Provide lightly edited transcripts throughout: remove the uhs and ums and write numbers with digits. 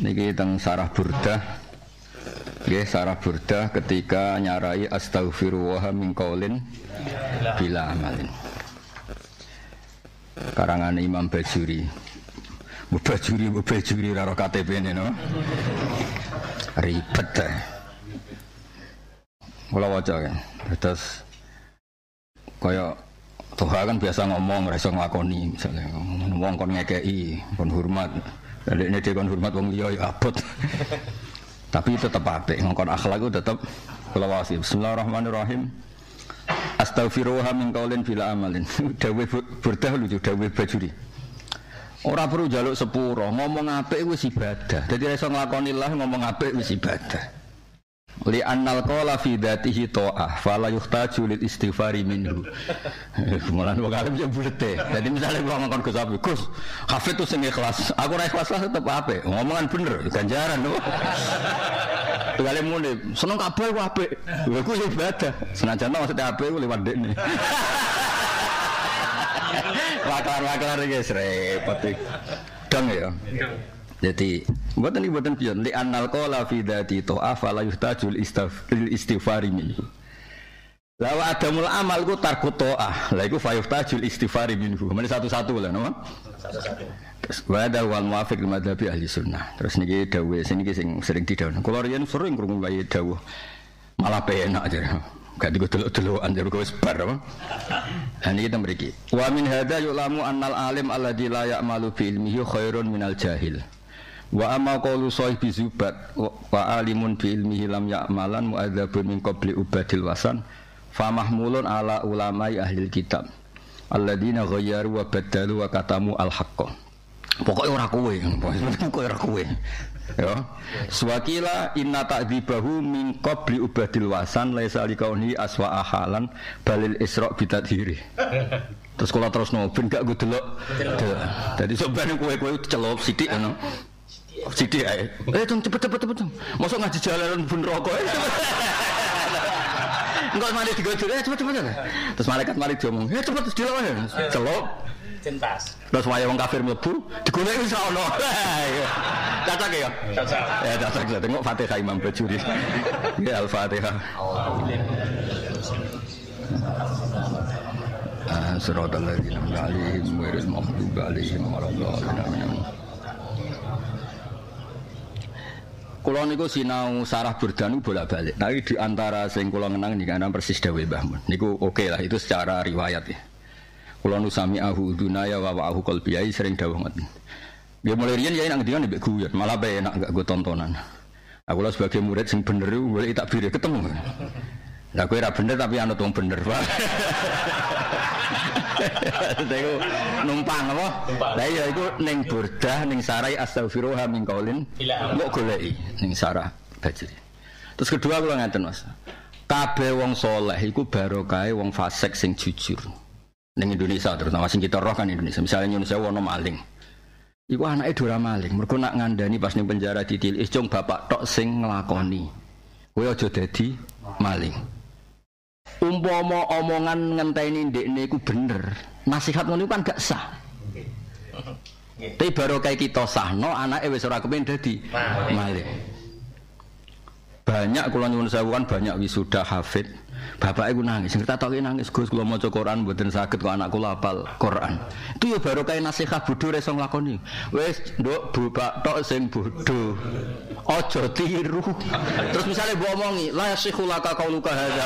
Niki teng Sarah Burdah. Nggih, Sarah Burdah ketika nyarai astaghfirullah min qaulin bila amalin. Karangan Imam Bajuri. Bajuri karo KTP-ne no. Ribet ta. Kula waca kan. Terus kaya Tuhan kan biasa ngomong ora iso nglakoni, misalnya ngomong kon ngekeki, kon hormat. Dadekne dhewe kon hormat wong liya ya abot. Tapi tetep apik, ngongkon akhlak itu tetep kula wasi. Bismillahirrahmanirrahim. Astaghfirullah min qaulin bila amalin. Dawe Burdah lucu dawe Bajuri. Ora perlu njaluk sepuro, ngomong apik wis ibadah. Dadi ora iso nglakoni lah ngomong apik wis ibadah. Li annal qala fi dzatihi ta'ah fala yuhtaju lil istighfari minhu. Kemulan wong alim yo bulete. Dadi misale kula ngomong Gus Abi, Gus, hafid tu sing ikhlas. Aku ora ikhlas lah tetep apik. Ngomongan bener, ganjaran lho. Tukale muni, seneng kabeh ku apik. Lha ku ibadah. Senajan maksud apik ku liwat dekne. Wakar-wakar iki repot iki. Dong ya. Jadi buatan pion li annal qala fi dzati ta'af la yuhtajul istighfari minhu. Lawa adamul amal ku tarku ta'ah. La iku fa yuhtajul istighfari minhu. Mene satu-satu lah no. Satu-satu. Wa ada wal muwafiq madzhabi ahli sunnah. Terus niki dawuh sing sering didhawuh. Kula riyen sering krungu wae dawuh. Malah penak aja. Gak digodelok-delokan jare wis bar apa. Lan iki mriki. Wa min hadza yulamu annal alim alladzi la ya'malu bi ilmihi khairun minal jahil. Wa amma qawlu sahibi zubat wa alimun bi ilmihi lam ya'malan mu'adzabun min qabli ubadil wasan fa mahmulun ala ulamai ahli kitab alladzina ghayyaru wa badalu wa katamu al-haqqa. Pokoke ora kowe, pokoke ora kowe. Ya. Suwakila inna ta'dzibahu min qabli ubadil wasan laisa liqauni aswa ahalan balil isra bitadhiri. Terus kula terusno ben gak delok. Dadi sobane kowe celup sithik ngono. Sithik ae. Cepet. Mosok ngaji jalanan ben rokok. Engko mari digodhog cepet. Terus malaikat mari diomong, cepet delok ae. Celup. Cintas. Terus wae wong kafir mlebu, digoleki wis ono. Cacak ya? Cacak. Ya cacak. Tengok Fatihah Imam Bajuri. Ya Al-Fatihah. Siratal ladzina an'amta 'alaihim ghairil maghdubi 'alaihim waladdallin. Kula niku sinau Sarah Burdah niku bolak-balik. Tapi di antara sing kula ngenang niki ana persis dawuh Mbah Mun. Niku oke lah itu secara riwayat ya. Kula nu sami'ahu dunaya wa wa'ahu qalbiyai sering dawuh ngoten. Dia mulai riyen ya nang ngendikan mbek guyon, malah bae enak gak go tontonan. Aku lah sebagai murid sing bener iku golek takbir ketemu. Lah kowe ora bener tapi anut wong bener, Pak. Iku numpang apa? Lah iya iku ning Burdah ning Sarai astaghfirullah min qaulin mbok goleki ning Sarah Bajuri. Terus kedua kula ngaten Mas. Kabeh wong saleh iku barokahe wong fasik sing jujur. Ning Indonesia terutama sing kita roh kan Indonesia. Misalnya Indonesia ono maling. Iku anake dora maling. Mergo nak ngandani pas ning penjara ditilis cung bapak tok sing nglakoni. Kowe aja dadi maling. Umpama omongan ngenteni ndekne iku bener, nasihat ngono kan gak sah. Tapi barokah kita sahno anake wis ora kepen dadi maling. Banyak kula nyuwun sewu kan banyak wisuda hafid. Bapak iku nangis, sing tak nangis Gus kula maca Quran mboten saged kok anakku hafal Quran. Itu ya barokah nasihat bodho ora iso nglakoni. Wis nduk bapak tok sing bodho. Aja tiru. Terus misale mbok omongi la yasihu laka qauluka hadza.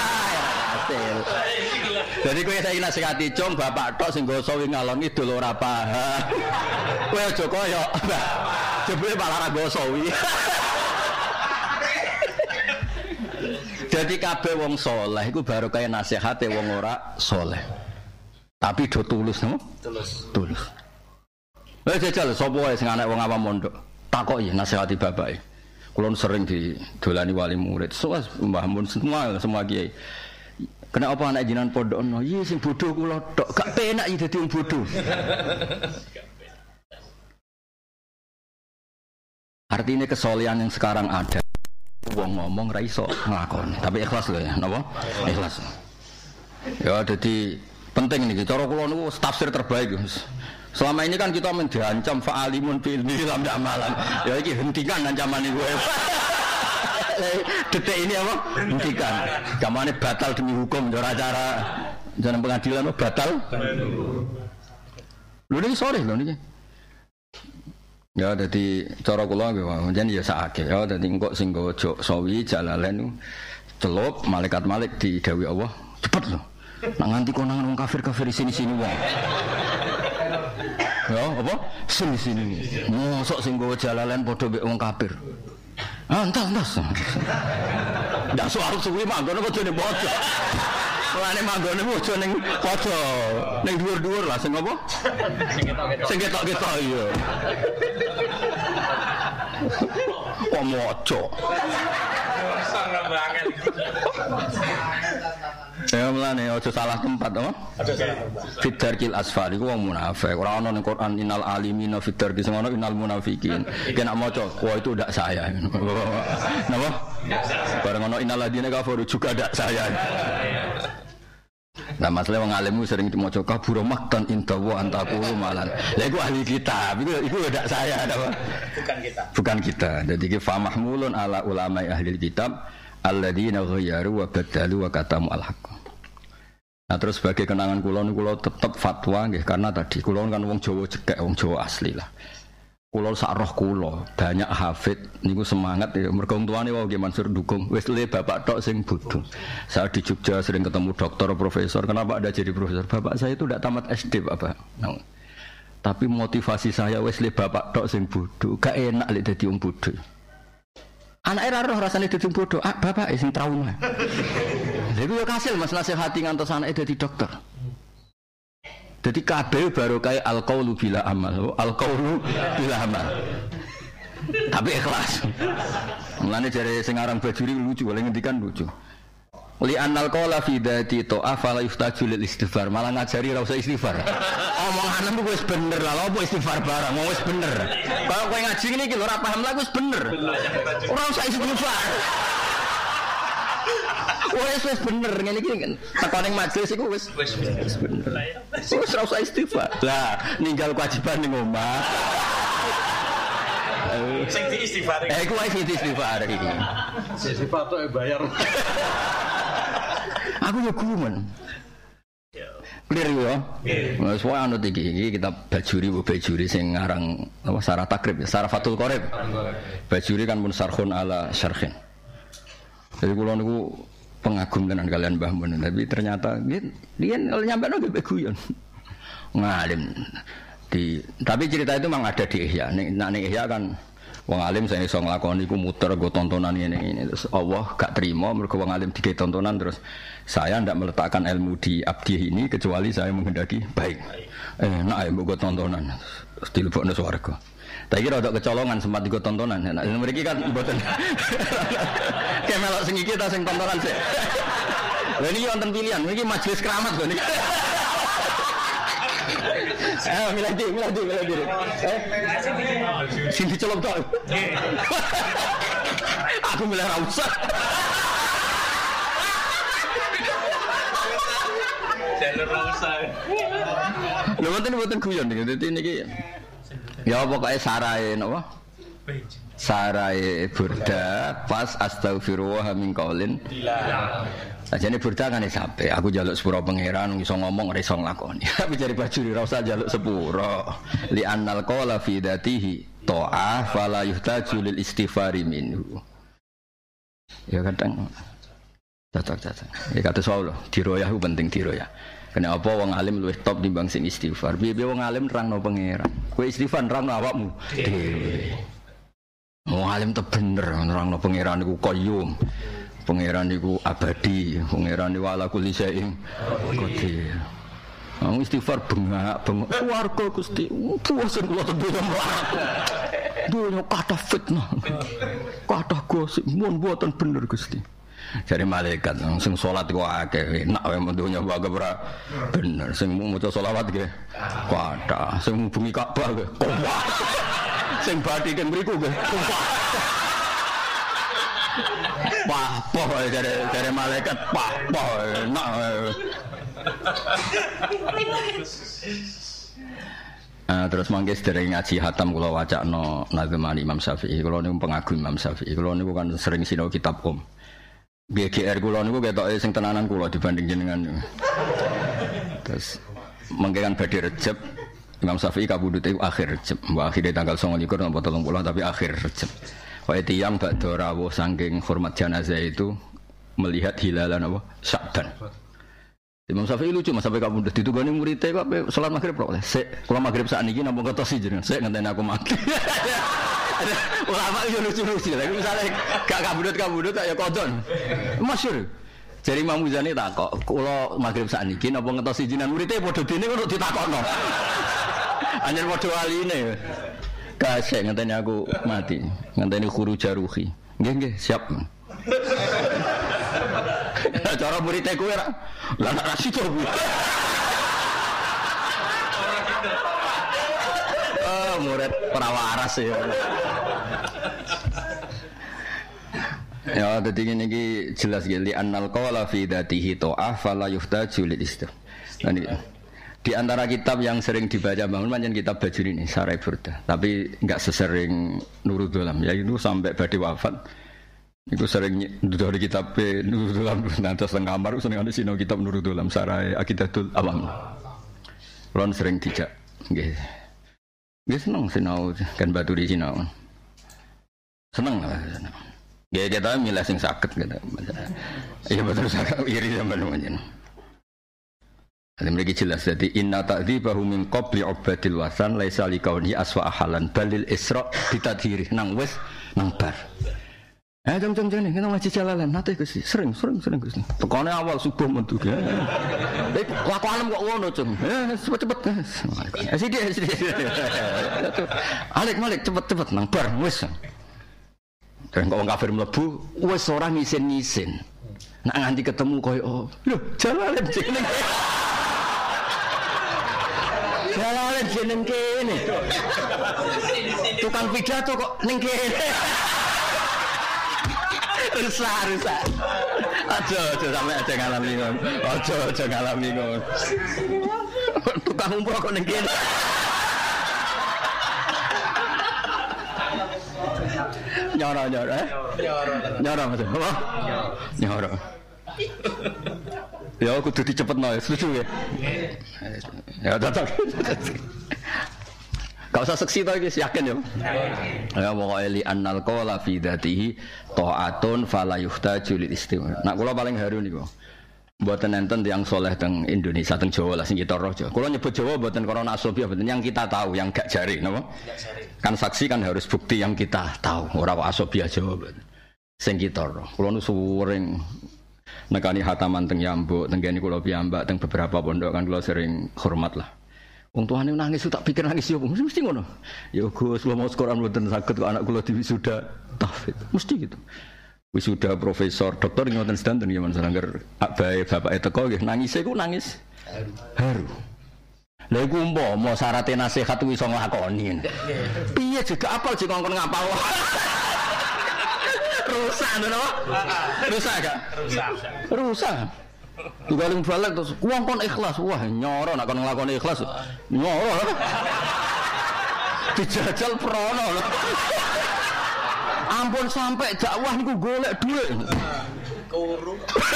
Jadi kowe saiki nasihati cung bapak tok sing nggoso wing ngalon idul ora paham. Kowe aja kaya jebule malah ra nggoso wi. Jadi kabeh wong saleh iku barokah nasihate wong ora saleh. Tapi do tulus no? Tulus. Wis jajal sapa wae sing anak wong awam mondok. Takoki nasihati bapake. Kula sering didolani wali murid. Soas Mbah Mun semua kiai. Kena apa anak jinan pondok ono? Iya sing bodoh kula tok. Gak penak iki dadi wong bodoh. Artinya kesolehan yang sekarang ada. Wong ngomong ra iso nglakoni, tapi ikhlas lho ya, napa? Ikhlas. Ya dadi penting niki cara kula niku tafsir terbaik, Mas. Selama ini kan kita diancam fa'alimun fil lam amalan. Ya iki hentikan ancaman iku. Detik ini apa? Hentikan. Kamane batal demi hukum ora cara jalan pengadilan batal. Lho niki sore lho niki. Ya dadi cara kula nggih jan ya sakake. Ya dadi engko sing nggo sawi jalalen celup malaikat malik didhawuhi Allah, cepet lho. Nak nganti konangan wong kafir-kafir sini-sini wong. Ya apa? Sini-sini. Mosok sing nggo jalalen padha mek wong kafir. Entas. Ndak soal suwi manggon kok dene bojo. Mulane manggone bojo ning podo. Ning dhuwur-dhuwur lah sing apa? Sing ketok-ketok iya. Kok moco. Sangat banget. Ya mulane aja salah tempat to. Aja salah tempat. Fidarkil asfar iku wong munafik. Ora ana ning Quran innal alimina fidarki sing ana innal munafikin. Kena maca, wah itu ndak saya. Napa? Bareng ana innal ladina kafaru juga ndak saya. Nah masalah wong alim sering dimaca kabura maktan inda wa antaqulu malan. Lah iku ahli kitab, iku ndak saya napa? Bukan kita. Jadi ki fa mahmulun ala ulama ahli kitab alladzina ghayyaru wa badalu wa katamu al-haqq. Nah terus sebagai kenangan kula niku kula tetep fatwa nggih karena tadi kula kan wong Jawa cekek, wong Jawa asli lah. Kula sak roh kula banyak hafid niku semangat ya mergo tuane wae nggih Mansur dukung. Wis le bapak tok sing bodho. Saya di Jogja sering ketemu dokter, profesor. Kenapa Anda jadi profesor? Bapak saya itu tidak tamat SD, Bapak. Nah, tapi motivasi saya wis le bapak tok sing bodho. Gak enak lek dadi wong bodho. Anak era roh rasane dadi bodoh, bapak sing trauma. Lha iku yo kasil Mas nasihati ngantos anake dadi dokter. Dadi kabeh baru kaya al-qaulu bila amal. Al-qaulu bila amal. Tapi ikhlas. Mulane jare sing aran Bajuri lucu, oleh ngendikan lucu. Li annal qala fi dzati ta'af la yuftaju lil istighfar, malah ngajari ora usah istighfar. Omonganmu wis bener lah, opo istighfar barang, wis bener. Kalau kowe ngaji ngene iki lho ora paham lha wis bener. Ora usah istighfar. Wis bener ngene iki teko ning majelis iku wis bener. Wis ora usah istighfar. Lah ninggal kewajiban ning omah. Sing di istighfar. Iku wae sing di istighfar iki. Istighfar tok bayar. Aku yo gumun. Clear yo. Wes wae anut iki kita Bajuri sing ngarang apa Sarah Takrib ya, Sarah Fathul Qorib. Bajuri kan pun sarhun ala syarhin. Jadi kula niku pengagum tenan kalian Mbah Mun, tapi ternyata dia nyampe nang guyon. Ngalim. Tapi cerita itu memang ada di Ihya. Ning Ihya kan wong alim saya iso nglakoni iku muter go tontonan ngene terus Allah gak terima mergo wong alim digawe tontonan terus saya ndak meletakkan ilmu di abdi ini kecuali saya menghendaki baik. Enak ya mbok tontonan terus dilebokno swarga. Tak kira ada kecolongan sempat digo tontonan. Nah mriki kan mboten. Kayak melok sing iki ta sing tontonan sik. Lha niki wonten pilihan, niki majelis keramat lho niki. Milih diri. Sing dicelok tok. Aku milih ra usah. Jalur ra usah. Lho mboten guyon niki. Dadi niki ya pokoke sarae napa? Sarai burda pas astaghfirullah min qaulin ajane burda kan sampe aku njaluk sepuro pangeran iso ngomong ora iso nglakoni tapi jare Bajuri ora usah njaluk sepuro li annal qala fi dzatihi ta'ah fala yuhtaju lil istighfari minhu ya kadang cacat ya kata soal diroyah ku penting diroyah kena apa wong alim luwih top timbang sing istighfar piye wong alim nerangno pangeran kowe istighfar nerangno awakmu dhewe. Wong alim te bener nerangno pangeran iku qayyum. Pangeran iku abadi, pangeran iku ala kulli syai'in qadir. Wong istighfar bengak-bengok swarga Gusti. Puasen kula tentunya mlaku. Dunya kathah fitnah. Kathah gosip mun mboten bener Gusti. Jare malaikat sing salat kok akeh enak wae mendunya wae ora bener sing maca selawat nggih kathah sing hubungi Ka'bah nggih sing batikan mriku nggih. Wah, poh dari malaikat poh enak. Terus mangke sedereng ngaji hatam kula wacana Nazman Imam Syafi'i. Kula niku pengagum Imam Syafi'i. Kula niku kan sering sinau kitab BGR kula niku ketoke sing tenanan kula dibanding jenengan. Terus mangke kan badhe Rejab Imam Syafi'i kabudute akhir Rejab. Mbok akhire tanggal 29 napa 30 tapi akhir Rejab. Kaya tiyang badhe rawuh saking hormat jenazah itu melihat hilalan apa? Sya'ban. Imam Syafi'i lucu Mas sampai kabudut ditugani muridé kok salat magrib kok. Sik, kula magrib sakniki napa ngetosi jenengan. Sik ngenteni aku mati. Ulama yo lucu-lucu. Lha misale gak kabudut ya kodon. Masyhur. Jare Imam Muzani takok, kula magrib sakniki napa ngetosi jenengan muridé padha dene kok ditakokno. Anjen padha waline. Kasih ngenteni aku mati. Ngenteni khuru jaruhi. Nggih, siap. Cara muridé kowe ra. Lah nak rasi to. Murid ora waras ya. Ya dadi ngene iki jelas ya li annal qawla fi dzatihi ta'ah fala yuhtaju lil istif. Di antara kitab yang sering dibaca bangun pancen kitab Bajuri ini Sarai Burda, tapi enggak sesering Nurul Dolam ya itu sampai badhe wafat. Iku sering dari kitab Nurul Dolam nanti setengah kamar seneng ada sinau kitab Nurul Dolam Sarai Aqidatul Awam. Kulon sering dijak nggih. Nggih seneng sinau kan Baturi sinau. Seneng lah seneng. Nggih kita milih sing saged gitu. Iya betul saged iri sampean menjen. Ada mereka jelas jadi inna ta'dzibahu min qabli ubadil wasan laisa likauni aswa ahalan balil isra bitadhiri nang wis nang bar. Jam nih kita ngaji jalalan nanti Gusti sering Gusti. Tekone awal subuh metu ya. Laku alam kok ngono cung. Cepet. Sithik. Alik cepet nang bar wis. Dan kok wong kafir mlebu wis ora ngisin. Nak nganti ketemu koyo lho jalalan jeneng. Jalalan jeneng kene. Tukang pidato kok ning kene. Rusak. Aja sampe aja ngalami ngono. Aja ngalami ngono. Tukang umroh kok ning kene. Nyoro Mas. Apa? Nyoro. Ya kudu dicepetno ya, setuju ya. Ya tetep. Gak usah seksi to iki yakin ya. Ya pokoke li annal qawla fi dzatihi ta'atun fala yuhtaju lil istimar. Nak kula paling haru niku. Mboten enten tiyang saleh teng Indonesia teng Jawa lah sing kita roh. Kula nyebut Jawa mboten karena asobiah mboten yang kita tahu, yang gak jari napa? Kan saksi kan harus bukti yang kita tahu, ora kok asobiah Jawa mboten. Sing kita roh. Kula nu suwering nekani hataman teng Yambuk, teng kene kula piyambak teng beberapa pondok kan kula sering hormat lah. Wong tuane nangis tak pikir nangis yo mesti ngono. Ya Gus, kula mau Quran mboten saged kok anak kula diwisuda tahfidz. Mesti gitu. Wisuda profesor doktor ngoten sedanten ya men sarengger bae bapake teko nggih nangise ku nangis haru. Lha iku umpama syaraté nasihat kuwi iso nglakoni. Piye juga apal jek ngongkon ngapal. Rusak lho. Rusak gak? Rusak. Tugaling balik terus ngongkon ikhlas. Wah, nyoro nek kon nglakoni ikhlas. Nyoro. Dijajal prono lho. Ampun sampai dakwah niku golek dhuwit. Kuru.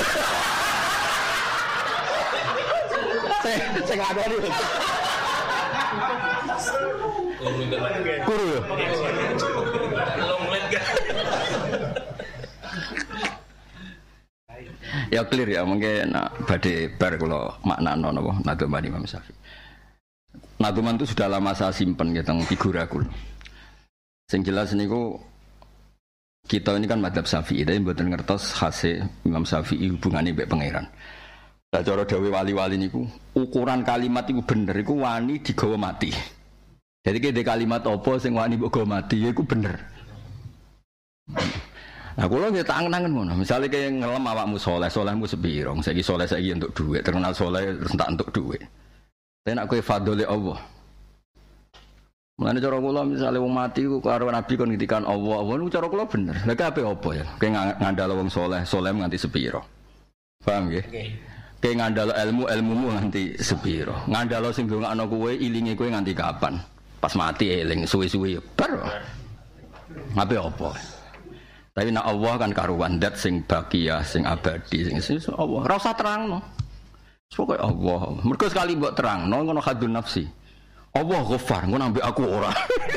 Sing ngadoni. Kuru. Ya clear ya mungkin badhe bar kula maknano napa Nadzuman Imam Syafi'i. Nadzuman itu sudah lama saya simpen ya teng figura kula. Sing jelas niku kita ini kan madzhab Syafi'i, tapi mboten ngertos khase Imam Syafi'i hubungane mbek pangeran. Lah cara dawuh wali-wali niku, ukuran kalimat iku bener iku wani digawa mati. Jadi kene kalimat apa sing wani mbok gawa mati iku bener. Nah, kula nggih tak angen-angen ngono. Misale kaya ngelem awakmu saleh, salehmu sepiro? Saiki saleh saiki entuk dhuwit, terkenal saleh terus tak entuk dhuwit. Tapi nek kowe fadhole Allah. Mulane cara kula misale wong mati ku karo Nabi kon ngendikan Allah niku cara kula bener. Lah kabeh apa ya? Kowe ngandhal wong saleh, saleh nganti sepiro. Paham nggih? Kayak ngandalo ilmumu nganti sepiro. Ngandalo sing ndongakno kowe ilinge kowe nganti kapan? Pas mati eling suwi-suwi bar. Ngapain apa? Tapi nak Allah kan karuan dat sing bakia, sing abadi, sing Allah. Ora usah terangno. Pokoke Allah. Mergo sekali mbok terangno ngono hadun nafsi. Allah Ghaffar, ngono ambek aku ora.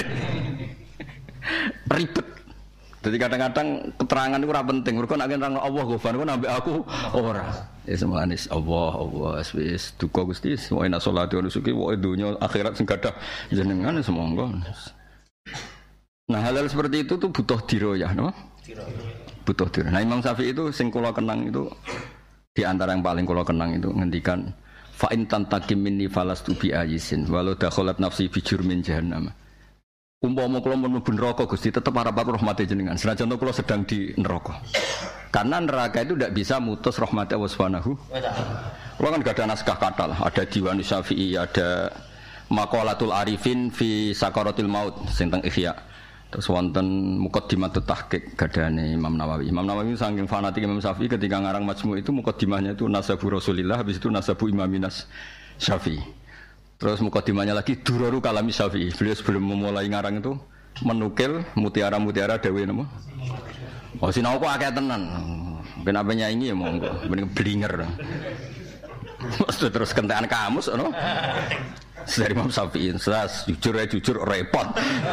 Ribet. Jadi kadang-kadang keterangan itu ora penting. Mergo nek nerangno Allah Ghaffar, ngono ambek aku ora. Ya semanis Allah wis duka Gusti wa inna sholati wa nusuki wa dunya akhirat sing gadah jenengan semonggo. Nah hal-hal seperti itu tuh butuh diroyah, no? Butuh diroyah. Nah Imam Syafi'i itu sing kula kenang itu di antara yang paling kula kenang itu ngendikan fa in tantakim minni falastu bi ayisin walau dakhalat nafsi bi jurmin jahannam. Umpama kula mlebu neraka Gusti tetep arep rahmate jenengan. Senajan kula sedang di neraka. Karena neraka itu tidak bisa mutus rahmat Allah Subhanahu. Kula kan gak ada naskah kata lah. Ada Diwan Syafi'i, ada Maqalatul Arifin fi Sakaratil Maut sing teng Ihya. Terus wonten Muqaddimatut Tahqiq gadane Imam Nawawi. Imam Nawawi saking fanatik Imam Syafi'i ketika ngarang Majmu' itu muqaddimahnya itu Nasabu Rasulillah, habis itu Nasabu Imaminas Syafi'i. Terus muqaddimahnya lagi Duraru Kalami Syafi'i. Beliau sebelum memulai ngarang itu menukil mutiara-mutiara dawuhe napa? Oh sinau kok akeh tenan. Ben apa nyanyi ya monggo, ben blinger. Mesti terus kentekan kamus ngono. Dari Imam Syafi'i, jujur repot.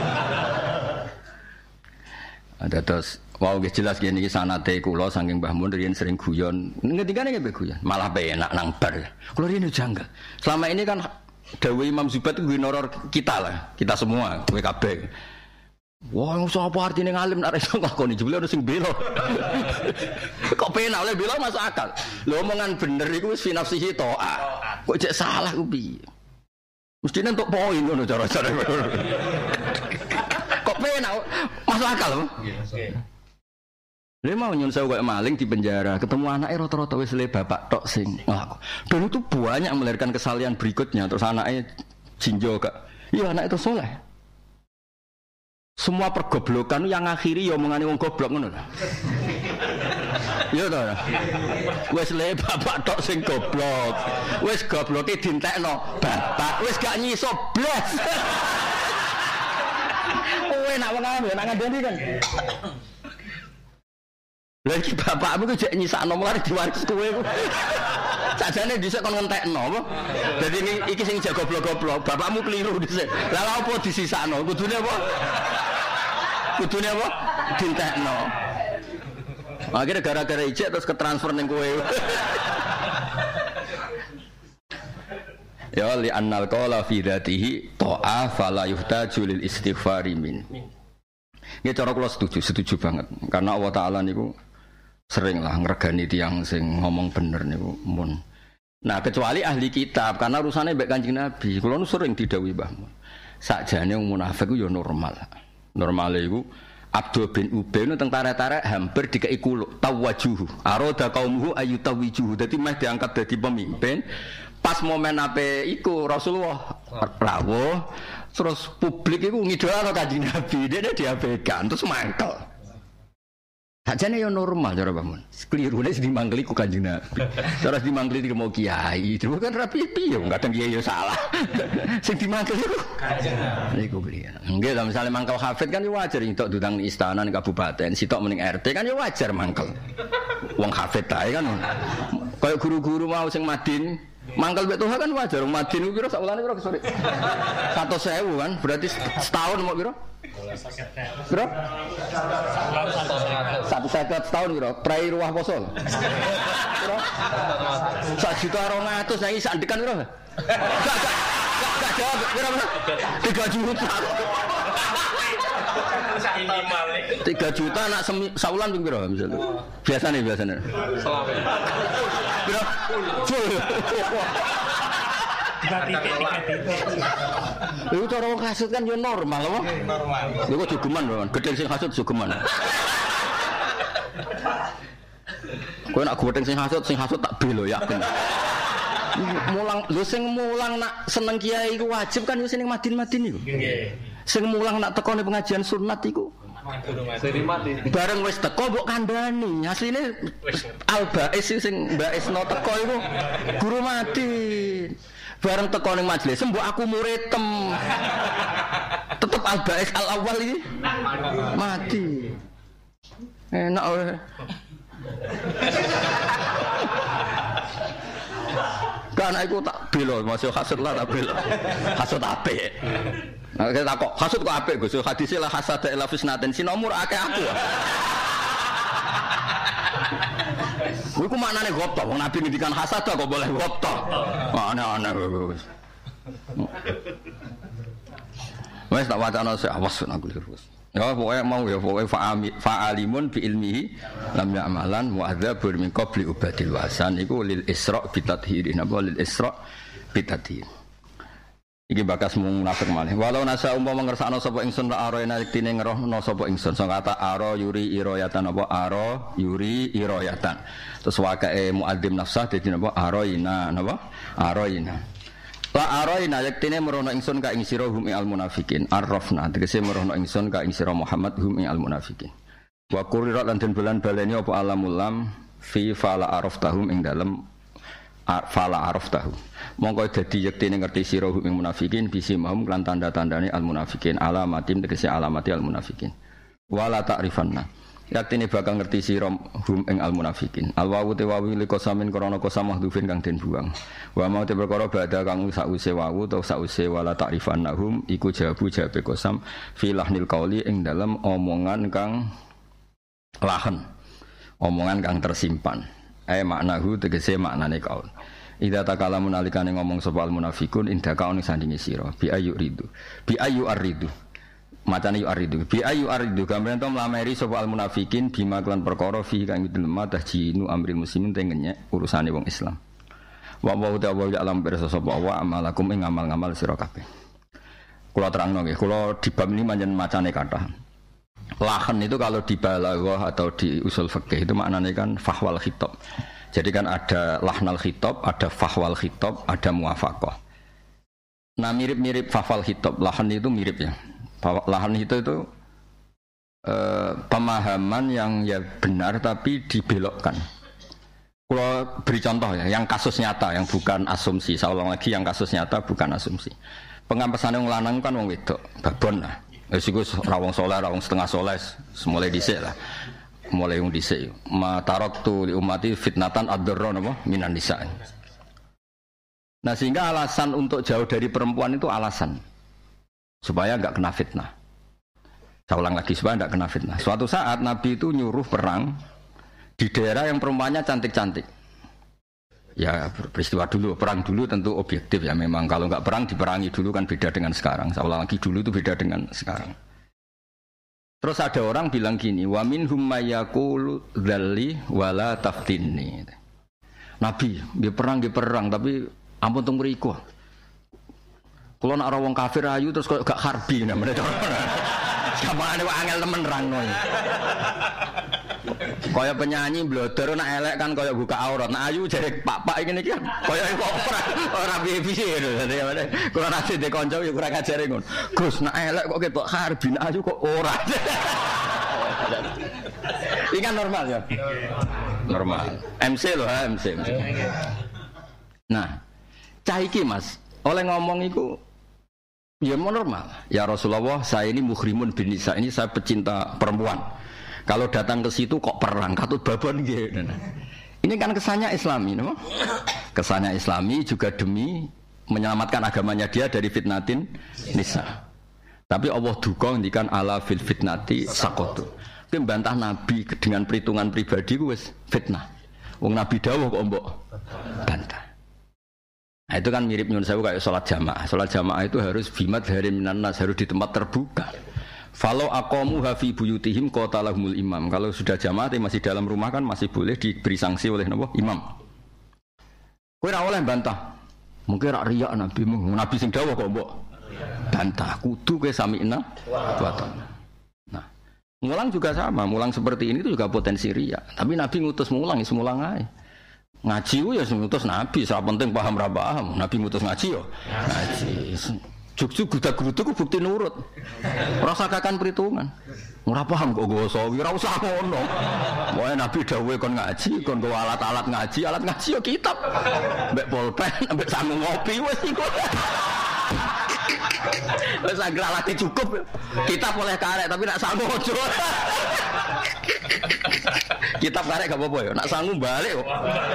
Ada terus wow jelas gini sanate kula saking Mbah Mun riyen sering guyon. Ngendikane nggih guyon, malah penak nang bar. Kula riyen janggal. Selama ini kan dawuh Imam Zubaid itu noror kita lah, kita semua, kowe kabeh. Wah, sapa artine ngalim nek iso ngakoni jebule ono sing bela. Kok penak oleh bela masuk akal. Lho omongan bener iku wis fi nafsihi ta'ah. Kok cek salah ku piye? Mestine entuk poin ngono cara-cara. Kok penak masuk akal lho. Lha mau nyun sewu kaya maling di penjara, ketemu anake rata-rata wis le bapak tok sing nglaku. Dan itu banyak melahirkan kesalahan berikutnya, terus anake jinjo gak. Iya anak itu soleh. Semua pergoblokan yang akhiri ya omongane wong goblok ngono lho. Iya to. Wis le bapak tok sing goblok. Wis gobloke dientekno bapak, wis gak nyiso blas. Kowe nak wong ae nak ngandani kan. Lagi bapakmu ku jek nyisakno mulane diwaris kowe. Sajane dhisik kon ngentekno apa? Dadi iki sing jago goblok-goblok, bapakmu keliru dhisik. Lah lha opo disisakno? Kudune apa? Kudune apa? Dientekno. Akhirnya gara-gara ijek terus ketransfer ning kowe. Ya li annal qala fi dzatihi ta'a fala yuhtaju lil istighfari min. Nggih cara kula setuju banget. Karena Allah Taala niku sering lah ngregani tiyang sing ngomong bener niku mun. Nah, kecuali ahli kitab karena urusannya mbek Kanjeng Nabi. Kula nu sering didhawuhi Mbah Mun. Sakjane wong munafik ku ya normal. Normale iku Abdul bin Ubay nu teng tarik-tarik hampir dikei kuluk tawajuhu. Aroda qaumuhu ayutawijuhu. Dadi meh diangkat dadi pemimpin. Pas momen ape iku Rasulullah rawuh terus publik iku ngidolano Kanjeng Nabi. Dene diabaikan terus mangkel. Sajane yo normal cara bangun. Klirune sing dimangkeli ku Kanjeng Nabi. Terus dimangkeli iki mau kiai. Terus kan rapi piye kadang kiai yo salah. Sing dimangkeli ku Kanjeng Nabi. Niku kliyen. Nggih, lha misale mangkel hafid kan yo wajar entuk diundang ning istana ning kabupaten, sitok mending RT kan yo wajar mangkel. Wong hafid ae kan. Kayak guru-guru mau sing Madin mangkel mbek Tuhan kan wajar. Madin ku pira sak wulane pira sore? 100.000 kan, berarti setahun mau pira? Bro? 150 setahun bro, prai ruah poso. Bro? 1.200.000 nang sak dekan bro. Gak jawab, bro. 3 juta. 3 juta nak saulan ping piro misalnya. Biasane. Selawe. Bro. Itu cara wong hasud kan yo normal apa? Normal. Iku jogeman lho, gedeng sing hasud jogeman. Kowe nak gedeng sing hasud tak belo yakin. Mulang lho sing mulang nak seneng kiai iku wajib kan yo sing Madin iku. Nggih. Sing mulang nak tekone pengajian sunat iku Seri mati. Bareng wis teko mbok kandhani. Asline Al-Bais sing Baisno teko iku guru mati. Bareng teko ning majelis mbok aku muridem. Tetep Al-Bais Al-Awwal iki mati. Enak wae. Kan aku tak bela, masuk hasud lah tak bela. Hasud apik. Nah, kita kok hasud kok apik Gus. Hadise la hasada ila fisnatin sinomur akeh aku. Kuwi ku maknane gopto, wong Nabi ngendikan hasada kok boleh gopto. Aneh-aneh wis. Wes tak wacana sik awas aku terus. Ya pokoknya mau ya pokoknya fa'alimun bi ilmihi lam ya'malan mu'adzabur min qabli ubadil wasan iku lil isra' bitadhiri napa lil isra' bitadhir. Iki bakas mung munafik malih. Walau nasa umpama ngersakno sapa ingsun ra arena yektine ngerohno sapa ingsun. Sing kata ara yuri irayatan apa ara yuri irayatan. Terus wakae muadzim nafsah dadi napa araina napa araina. La araina yektine merono ingsun ka ing sira hum al munafikin arrafna tegese merono ingsun ka ing sira Muhammad hum al munafikin. Wa qurirat lan den bulan baleni apa alamul lam fi fala araftahum ing dalem fala araftahum. Mongko dadi yektine ngerti sira hum ing munafikin bisimahum lan tanda-tandane al munafikin alamatim tegese alamati al munafikin. Wala ta'rifanna yaktine bakal ngerti sira hum ing al munafikin. Al wawu te wawu li kosamin krana kosam mahdhufin kang den buang. Wa mau te perkara badha kang sause wawu utawa sause wala ta'rifannahum iku jawabu jawabe kosam fi lahnil qauli ing dalam omongan kang lahen. Omongan kang tersimpan. Maknahu tegese maknane kaul. Idza takalamun alikane ngomong sapa al munafikun inda kaun sandinge sira bi ayu ridu. Bi ayu aridu. Macane yu aridu bi ayu aridu gambaran to mlameri sapa al munafikin bima kelan perkara fi kang lemah tahjinu amril muslimin te ngenyek urusane wong Islam. Wa wa ya alam pirsa sapa wa amalakum ing ngamal-ngamal sira kabeh. Kula terangno nggih, kula di bab ini pancen macane kathah. Lahan itu kalau di balaghah atau di usul fikih itu maknanya kan fahwal khitab. Jadi kan ada lahnal khitab, ada fahwal khitab, ada muwafaqah. Nah mirip-mirip fahwal khitab, lahan itu mirip ya. Lahan itu pemahaman yang ya benar tapi dibelokkan. Kalau beri contoh ya, yang kasus nyata, yang bukan asumsi. Saya ulang lagi, yang kasus nyata bukan asumsi. Pengampasan yang lanang kan wong wedok, babon lah. Esiku rawong soleh, rawong setengah soleh, mulai dhisik lah. Mulai wong dhisik. Matarok tu li umati fitnatan ad-darra napa minan nisa. Nah sehingga alasan untuk jauh dari perempuan itu alasan supaya enggak kena fitnah. Saya ulang lagi, supaya enggak kena fitnah. Suatu saat Nabi itu nyuruh perang di daerah yang perempuannya cantik-cantik. Ya peristiwa dulu, perang dulu tentu objektif ya. Memang kalau enggak perang diperangi dulu kan beda dengan sekarang. Saya ulang lagi, dulu itu beda dengan sekarang. Terus ada orang bilang gini, wa minhum mayyaqulu dzalli wala taftinni. Nabi, dia perang tapi ampun teng mriku. Kalau nak rawong kafir ayu terus kok gak harbi namanya. Samane kok angel temen rangno. Kaya penyanyi blodor nak elek kan kaya buka aurat. Nak ayu jare pak-pak ngene iki kaya kok ora piye-piye lho. Dadi kula nate de kanca yo kurang ajare ngono. Gus nak elek kok ketok harbi, nak ayu kok ora. Iki kan normal ya. Normal. MC lho, MC. Nah, cah iki Mas, oleh ngomong iku ya mau normal. Ya Rasulullah, saya ini muhrimun bin nisa, ini saya pecinta perempuan. Kalau datang ke situ kok perang, katut babon nggih. Ini kan kesannya Islami, no? Kesannya Islami juga demi menyelamatkan agamanya dia dari fitnatin nisa. Tapi Allah duka ngendikan ala fil fitnati saqatu. Itu membantah Nabi dengan perhitungan pribadi ku wis fitnah. Wong Nabi dawuh kok mbok bantah. Nah, itu kan mirip nyun sewu kayak sholat jamaah. Sholat jamaah itu harus bimat hari minan nas, harus di tempat terbuka. Falau aqamu hafi buyutihim qatalahumul imam. Kalau sudah jamaah masih dalam rumah kan masih boleh diberi sanksi oleh imam. Kowe ora oleh bantah. Mungkin rak riya Nabi sing dawuh kok mbok bantah. Kudu kowe sami'na wa ta'na. Nah, mulang juga sama. Mulang seperti ini itu juga potensi riya. Tapi Nabi ngutus mulang, ya semulang ae. Ngaji ya ngutus Nabi, ora penting paham ra paham. Nabi ngutus ngaji yo. Ngaji. Juk-juk gudak-guduk bukti nurut. Rasa kakan perhitungan. Ora paham kok nggawa sawi, ora usah ngono. Moe Nabi dawuhe kon ngaji, kon nggawa alat ngaji ya kitab. Mbek pulpen, mbek sangu ngopi wis iku. Wis anggere alate cukup. Kitab oleh karek tapi nak sangu ojo. Kitab karek gak apa-apa ya, nak sangu balik kok.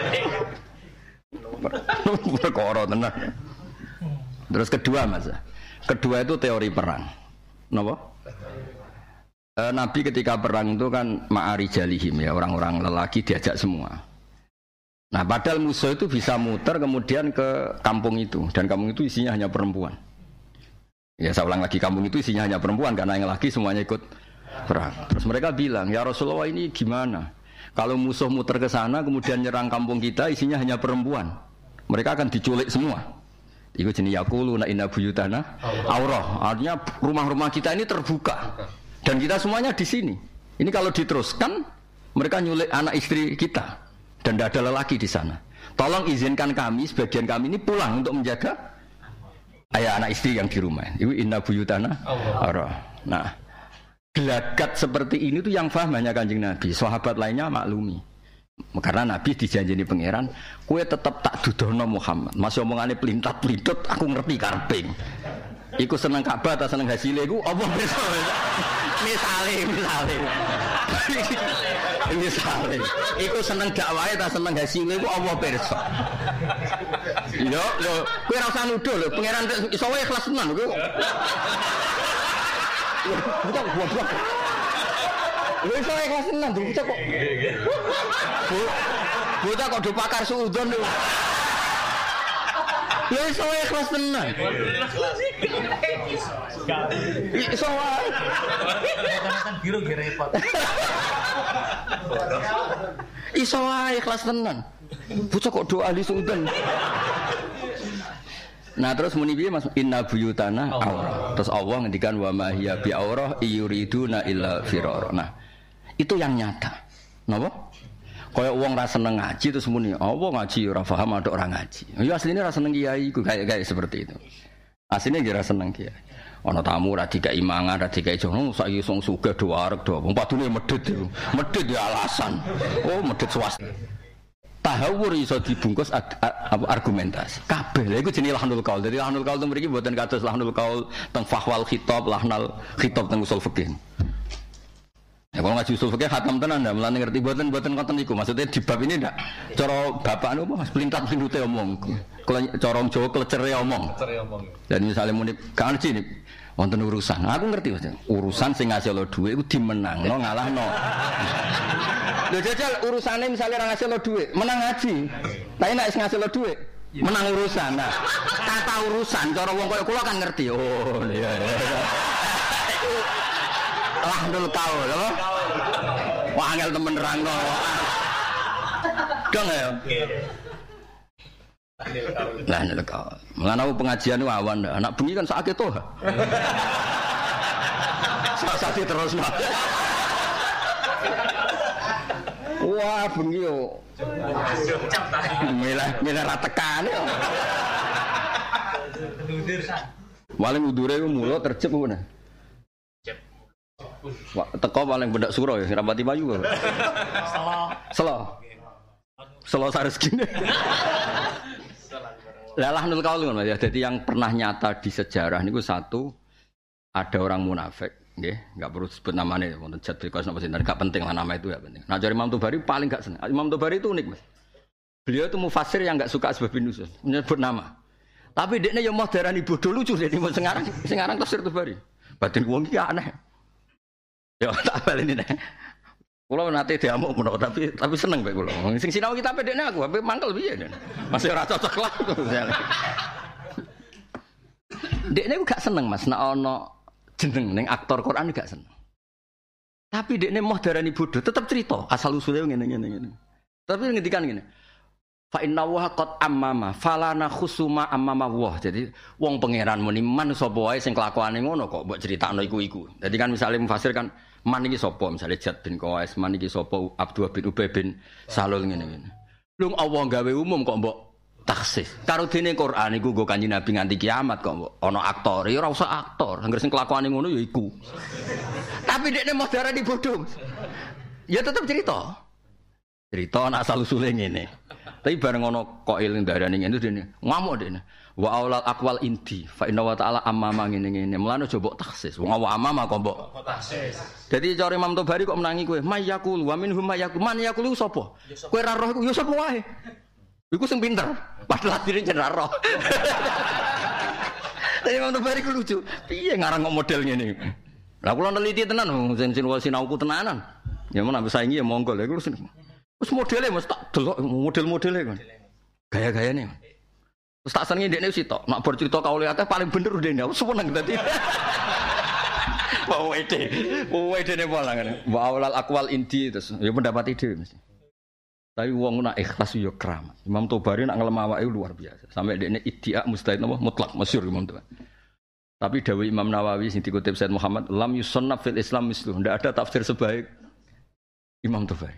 Perkara tenan. Terus kedua Mas. Kedua itu teori perang. Napa? Nabi ketika perang itu kan ma'arijalihim ya, orang-orang lelaki diajak semua. Nah, padahal musuh itu bisa muter kemudian ke kampung itu dan kampung itu isinya hanya perempuan. Ya, saya ulang lagi, kampung itu isinya hanya perempuan karena yang laki semuanya ikut perang. Terus mereka bilang, "Ya Rasulullah, ini gimana? Kalau musuh muter ke sana kemudian nyerang kampung kita isinya hanya perempuan. Mereka akan diculik semua." Iku jenis yaquluna inna buyutana aurah. Artinya rumah-rumah kita ini terbuka dan kita semuanya di sini. Ini kalau diteruskan mereka nyulik anak istri kita dan tidak ada lelaki di sana. Tolong izinkan kami, sebagian kami ini pulang untuk menjaga ayah anak istri yang di rumah. Iku inna buyutana aurah. Nah, gelagat seperti ini tuh yang paham hanya Kanjeng Nabi. Sahabat lainnya maklumi. Karena Nabi dijanjeni pangeran, kue tetap tak dudohno Muhammad. Masih omongane pelintat-pelintut, aku ngerti karping. Iku seneng Ka'bah ta seneng hasilnya iku apa bisa? Misale. Iku seneng dakwahe ta seneng hasilnya iku apa pirsa? Yo, kowe ora usah nuduh lho, pangeran iso wae ikhlas tenan kowe. Bukan goblok. Lha iso ikhlas tenan bocah kok. Bocah kok do pakar suudon lho. Lha iso ikhlas tenan. Iso wae. Kan biru ge repot. Iso wae ikhlas tenan. Bocah kok do ahli suudon. Nah terus muni piye Mas, inna buyutana aurah. Terus Allah ngendikan wa ma hiya bi aurah yuriduna illa firara. Nah, itu yang nyata. Napa? Kaya wong ra seneng ngaji terus muni, apa ngaji ora paham ada orang ngaji. Ya asline ra seneng kiai iku kayak seperti itu. Asline nggih ra seneng kiai. Ana tamu ra dikai mangan, ra dikai jono, saiki sing sugih do arek do. Wong padune medhit iku. Medhit ya alasan. Oh, medhit swasta. Tahawur iso dibungkus argumentasi. Kabeh lha iku jenenge lahnul qaul. Dadi lahnul qaul mriki mboten kados lahnul qaul teng fahwal khitab, lahnal khitab teng usul fikih. Ya kalau ngaji usul fikih khatam tenan ndak mulane ngerti mboten konten niku. Maksudnya di bab ini ndak cara bapak niku Mas pelintat-pelintute omong. Kalau cara Jawa klecere omong. Dan misalnya muni kanji nih wonten urusan. Aku ngerti Mas. Urusan sing ngasil dhuwit iku dimenangno ngalahno. Lho jajal urusane misalnya ora ngasil dhuwit, menang ngaji. Tapi nek wis ngasil dhuwit, menang urusan. Nah, kata urusan cara wong koyo kula kan ngerti. Oh, iya. Lahnul qaul, apa? Wah, angel temen nerangno. Dong ya. Lahnul qaul. Mulane aku pengajian ku awan, anak bengi kan sakit toh. Sakit terus. Wah, bengi yo. Milah ra tekane yo. Paling udure ku mulo terjep ngono. Wah, teko paling bedak suro ya, rapati payu kok. Selo sareskine. Lah lahnul qaul ngono ya. Jadi yang pernah nyata di sejarah niku satu ada orang munafik, nggih, enggak perlu sebut namanya, wonten jad because napa sinten, enggak penting lah nama itu ya penting. Nah, dari Imam Tobari paling enggak seneng. Imam Tobari itu unik, Mas. Beliau itu mufasir yang enggak suka asbabun nuzul, menyebut nama. Tapi dekne yo mau darani bodoh lucu dene sekarang tafsir Tobari. Batin wong iki aneh. Ya tak baleni nek. Kula nate diamuk menawa tapi seneng bae kula. Sing sinau kita dekne aku, tapi mangkel piye. Masih ora cocok lah. Dekne ku gak seneng Mas, nek ana jeneng ning aktor Quran gak seneng. Tapi dekne moh darani bodoh, tetep cerita asal usule ngene. Tapi ngendikan ngene. Fa inna wa qad ammama falana khusuma ammama wa. Jadi wong pangeran muni man sapa wae sing kelakuane ngono kok mbok critakno iku. Jadi kan misalnya mufasir kan man iki sapa, misalnya Jad bin Qais, man iki sapa Abdullah bin Ubay bin Salul ngene-ngene. Lung Allah gawe umum kok mbok taksis. Karo dene Quran iku nggo Kanjeng Nabi nganti kiamat kok ana aktor. Ya ora usah aktor, anggere sing kelakuane ngono ya iku. Tapi dekne modar di bodoh. Ya tetep cerita. Cerita ana asal usule ngene. Tapi bareng ono kok eling darane ngene dene. Ngamuk dene. Wa aulal aqwal inti fa inna wa ta'ala amama ngene-ngene. Mulane aja mbok taksis. Wong wa amama kok mbok taksis. Dadi cara Imam Tobari kok menangi kowe. Mayyakul wa minhum mayyakul. Man yakulu sapa? Kowe ra roh iku ya sapa wae. Iku sing pinter. Padahal diri jeneng ra roh. Tapi Imam Tobari ku lucu. Piye ngarang kok model ngene? Lah kula neliti tenan sing sinauku tenanan. Ya men ambek saingi ya monggo lha iku wis modele mesti tak delok model-modele kan. Gaya-gayane. Terus tak senengi ndekne wis tok. Nak bercerita kaule akeh paling bener ndekne. Aku seneng dadi. Wede ne pola kan. Wa aulal aqwal inti terus ya pendapat ide mesti. Tapi wong nak ikhlas yo keramat. Imam Tobari nak ngelem awake luar biasa. Sampai ndekne iddia mustahid napa mutlak masyhur Imam Tobari. Tapi dawuh Imam Nawawi sing dikutip Said Muhammad, lam yusannaf fil Islam mislu. Ndak ada tafsir sebaik Imam Tobari.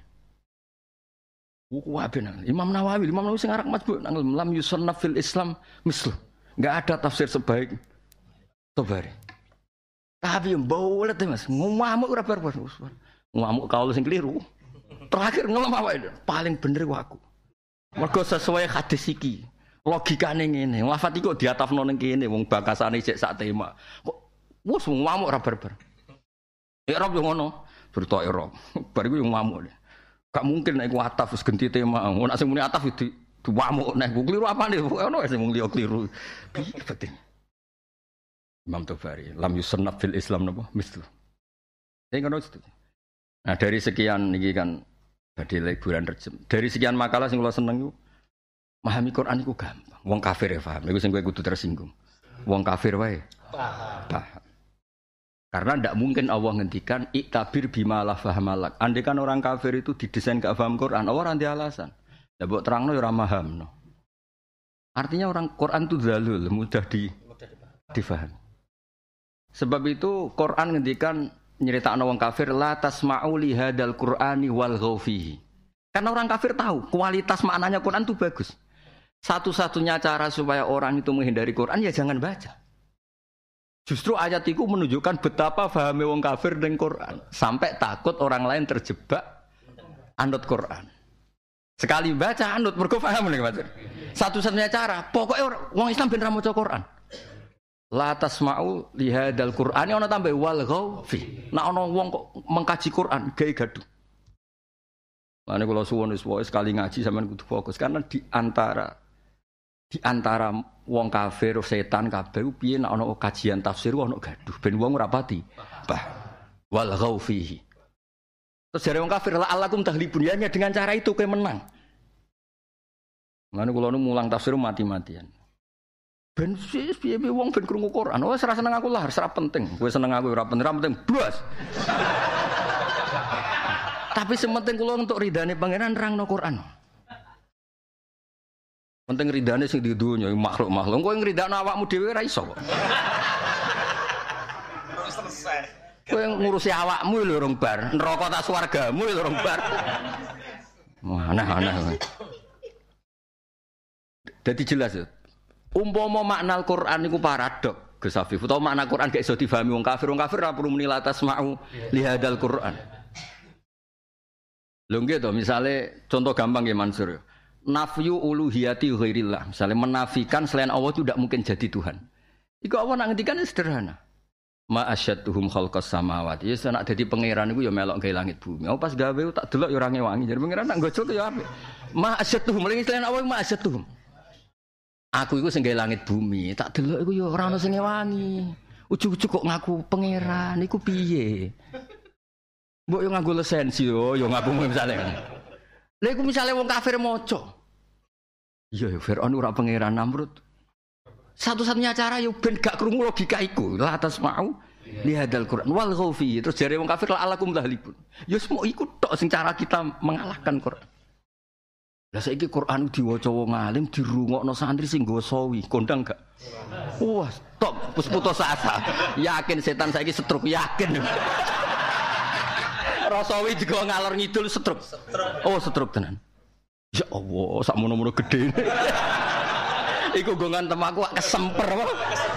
Imam Nawawi sing arak majbu lam yusannaf fil Islam mislu. Enggak ada tafsir sebaik Tobari. Tapi mbolet Mas, ngamuk ora barbar. Ngamuk kaul sing keliru. Terakhir ngelem awake paling bener aku. Mergo sesuai hadis iki. Logikane ngene, lafat iki kok diatafno ning kene wong bakasane sik sak tema. Kok wis ngamuk ora barbar. Irab yo ngono, berita Irab. Bar iku yo ngamuk. Gak mungkin nek ku ataf wis ganti tema. Nek sing muni ataf itu diwamuk nek kliru apane ono sing mung liya kliru. Piye penting. Imam Tobari, lam yusannaf fil Islam napa? Mislu. Sing ngono itu. Nah, dari sekian niki kan badhe liburan Rejab. Dari sekian makalah sing kula seneng iku memahami Quran iku gampang. Wong kafir ya paham. Iku sing kowe kudu tersinggung. Wong kafir wae paham. Karena tidak mungkin Allah ngendikan iktabir bima la fahamalak. Andai kan orang kafir itu didesain gak paham Quran, Allah nanti alasan. Ya mbok terangno ya ora paham no. Artinya orang Quran itu zalul, mudah difahami. Sebab itu Quran ngendikan nyeritakno wong kafir la tasma'u li hadzal Qur'ani wal ghaufihi. Karena orang kafir tahu kualitas maknanya Quran itu bagus. Satu-satunya cara supaya orang itu menghindari Quran ya jangan baca. Justru ayat itu menunjukkan betapa pahami wong kafir dengan Quran. Sampai takut orang lain terjebak anut Quran. Sekali baca anut, mergo paham nih Mas. Satu-satunya cara, pokoknya wong Islam ben ra maca Quran. La tasma'u li hadzal Qur'ani ana tambah wal ghaufi. Nek ana wong kok mengkaji Quran gawe gaduh. Mane kula suwun wis wae sekali ngaji sampean kudu fokus karena di antara wong kafir setan kabeh piye nek ana kajian tafsir ana gaduh ben wong ora pati wal ghaufihi. Terus jare wong kafir la alakum tahlibun ya dengan cara itu kowe menang. Mane kula nu mulang tafsir mati-matian. Ben piye wong ben krungu Quran. Wes ora seneng aku lah, ora penting. Kowe seneng aku ora penting blas. Tapi sementing kula untuk ridane pangeran nerangno Quran. Penting ridane sing di dunya makhluk-makhluk. Kowe ngridakno awakmu dhewe ora iso kok. Terus selesai. Kowe ngurusi awakmu lho rong bar, neraka tak swargamu lho rong bar. Aneh-aneh. Dadi jelas ya. Umpama makna Al-Qur'an niku paradok, Gus Afif. Utawa makna Qur'an gak iso difahami wong kafir ora perlu muni la tasma'u li hadzal Qur'an. Lho nggih to, misale contoh gampang nggih Mansur. Nafyu uluhiyati ghairillah. Misalnya menafikan selain Allah itu tidak mungkin jadi Tuhan. Iku Allah nak ngendikan sederhana. Ma asyadduhum khalqas samawati. Ya nek dadi pangeran iku ya melok gawe langit bumi. Apa pas gawe tak delok ya ora ngewangi. Jadi pangeran nak gojol ya apik. Ma asyadduhum selain Allah ma asyadduhum. Aku iku sing gawe langit bumi, tak delok iku ya ora ono sing ngewangi. Ujug-ujug kok ngaku pangeran iku piye? Mbok yo nganggo lisensi yo ngaku misale. Lha iku misale wong kafir maca. Iya, Fir'aun ora pangeran Namrud. Satu-satunya cara yo ben gak krungu logika iku. La tasma'u li hadzal Qur'an wal ghaufi. Terus jare wong kafir la alakum tahlibun. Yo semua iku tok sing cara kita mengalahkan Qur'an. Lah saiki Qur'an diwaca wong alim dirungokno santri sing nggawa sawi, kondang gak? Wah, stop, wis putus asa. Yakin setan saiki setruk, yakin. Rasawi digawa ngalor ngidul setruk. Oh, setruk tenan. Ya Allah, sak mono-mono gedhe. Iku nggo ngantem aku kesemper apa.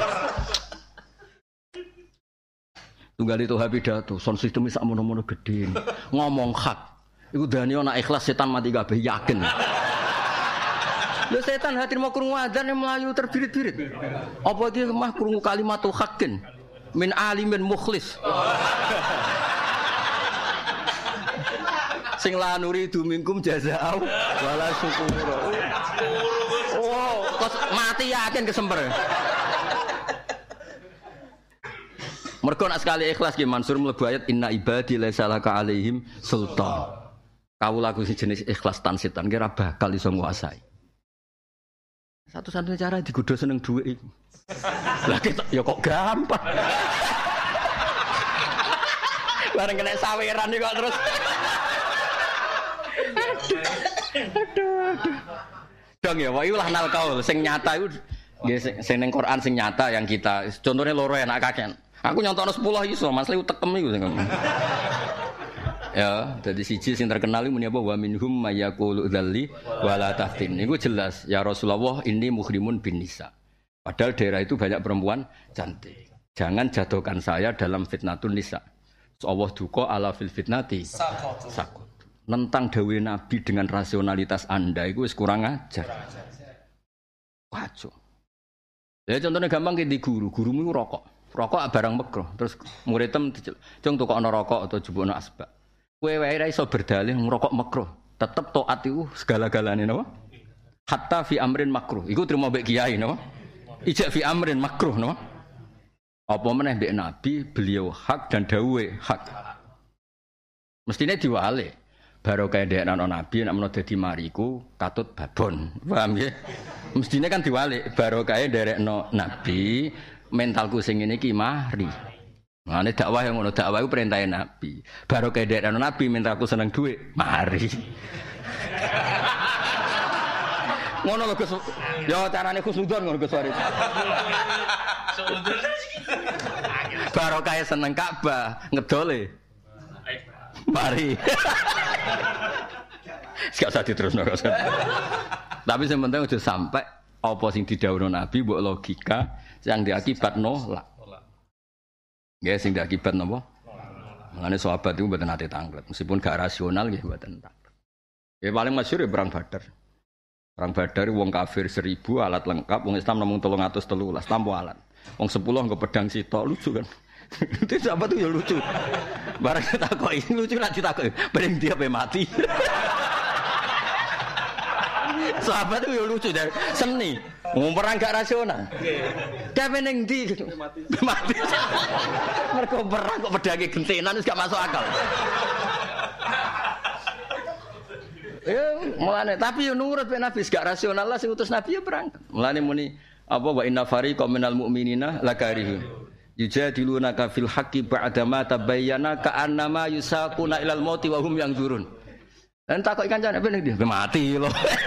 Tunggal itu pidato, sound system sak mono-mono gedhe. Ngomong hak. Iku dani ana ikhlas setan mati kabeh yakin. Lho setan hati mau krungu adzan mlayu terbirit-birit. Apa dia mah krungu kalimatul haqqin min alimin mukhlis. Sing la nuridu minkum jazaa'u wala syukura. Oh, kok mati yakin kesemper. Mergo nak sekali ikhlas ki Mansur mlebu ayat inna ibadi laisa laka alaihim sultan. Kawula ku jenis ikhlas tan setan kira bakal iso nguasai. Satu-satunya cara digodho seneng dhuwit iku. Lah ya kok gampang. Bareng kena saweran kok terus. Aduh. Dong ya, wae ulah nal kaul sing nyata iku nggih sing ning Quran sing nyata yang kita contohnya loro enak kakek. Aku nyontokno 10 iso, Mas Liu tekem iku sing. Ya, dadi siji sing terkenal iku muni apa wa minhum mayaqulu dzalli wala taftin. Niku jelas ya Rasulullah ini muhrimun bin nisa. Padahal daerah itu banyak perempuan cantik. Jangan jatuhkan saya dalam fitnatun nisa. Allah duka ala fil fitnati sakut. Nentang dawe Nabi dengan rasionalitas Anda itu wis kurang ajar. Wajo. Ya contohnya gampang ki di gurumu iku rokok. Rokok barang makruh. Terus muridem cung tukokno rokok atau jupukno asbak. Kowe wae ra iso berdalih ngrokok makruh. Tetep taat iku segala-galane napa? Hatta fi amrin makruh. Iku trimo mbek kiai napa? Ijak fi amrin makruh napa? Apa meneh mbek Nabi beliau hak dan dawuhe hak. Mestine diwale. Barokah ndekno Nabi nek menawa dadi mariku katut babon. Paham nggih? Mestine kan diwale barokah nderekno Nabi mentalku sing ngene iki mari. Mane dakwah yang ngono dakwah iku perintahe Nabi. Barokah ndekno Nabi mentalku seneng dhuwit, mari. Ngono lho Gus. Ya carane khusnudon ngono Gus Waris. Barokah seneng Ka'bah, ngedole. Mari. Gak usah diterusno. Tapi sing penting aja sampai apa sing didhawuhno Nabi mbok logika sing diakibat nolak. Nggih sing diakibat napa? Mangane sahabat itu mboten nate tanglet, meskipun gak rasional nggih mboten tanglet. Ya paling masyhur ya perang Badar. Perang Badar wong kafir 1000 alat lengkap, wong Islam namung 313 tanpa alat. Wong 10 nggo pedang sitok lucu kan. Itu sahabat itu ya lucu. Barang takoki lucu nek ditakoki, bareng dia mati. Sahabat itu ya lucu dari seni. Wong perang gak rasional. Kae ning ndi mati. Mergo perang kok pedange gentenan wis gak masuk akal. Ya mulane tapi yo nurut ben Nabi gak rasional lah sing utus Nabi ya perang. Mulane muni apa wa inna fariqam minal mu'minina lakarihun. Yujadilunaka fil haqqi ba'da ma tabayyana ka'annama yusaquna ilal mauti wa hum yanzurun. Lan takoki kancane ben ndi? Mati lho.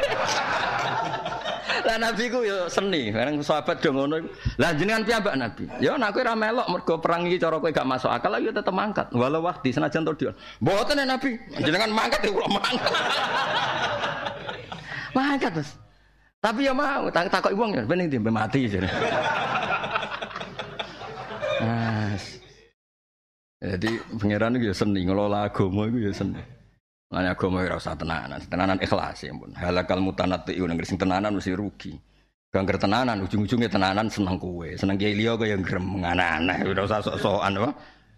Lah Nabi ku yo seni, bareng sahabat do ngono. Lah jenengan piyambak Nabi. Ya nek kowe ra melok mergo perang iki cara kowe gak masuk akal yo tetep mangkat. Walau wahdi senajan to dia. Mboten Nabi, jenengan mangkat yo kula mangkat. Mangkat Mas. Tapi ya mau takoki wong ya ben ndi mati jare. Jadi pangeran itu ya seni ngelola agama itu ya seni. Lan agama ora usah tenanan ikhlas ya ampun. Halakal mutanatti'un nang sing tenanan mesti rugi. Gangger tenanan ujung-ujungnya tenanan seneng kowe, seneng kiai liya kaya grem aneh-aneh ora usah sok-sokan apa.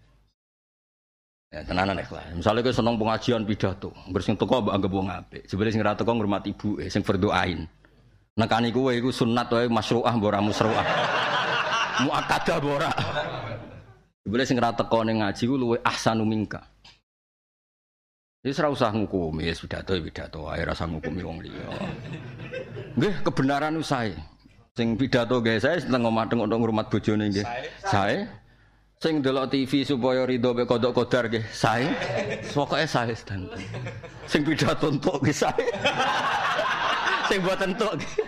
Ya tenanan ikhlas. Misale kowe seneng pengajian pidato, ngger sing teko mbok anggap wong apik. Jebule sing ora teko ngurmat ibuke sing berdoain. Nekani kowe iku sunat wae masyru'ah mbok ora musru'ah. Muakkadah mbok ora. Jebule sing ora teko ning ngaji ku luwih ahsanu mingka. Wis ora usah ngukumi, wis pidato wae ora usah ngukumi wong liya. Nggih, kebenaran usahe. Sing pidato nggih sae setengah mateng untuk ngurmat bojone nggih. Sae. Sing delok TV supaya ridho mek kodok kodar nggih sae. Pokoke sae sedanten. Sing pidato entuk nggih sae. Sing boten entuk nggih.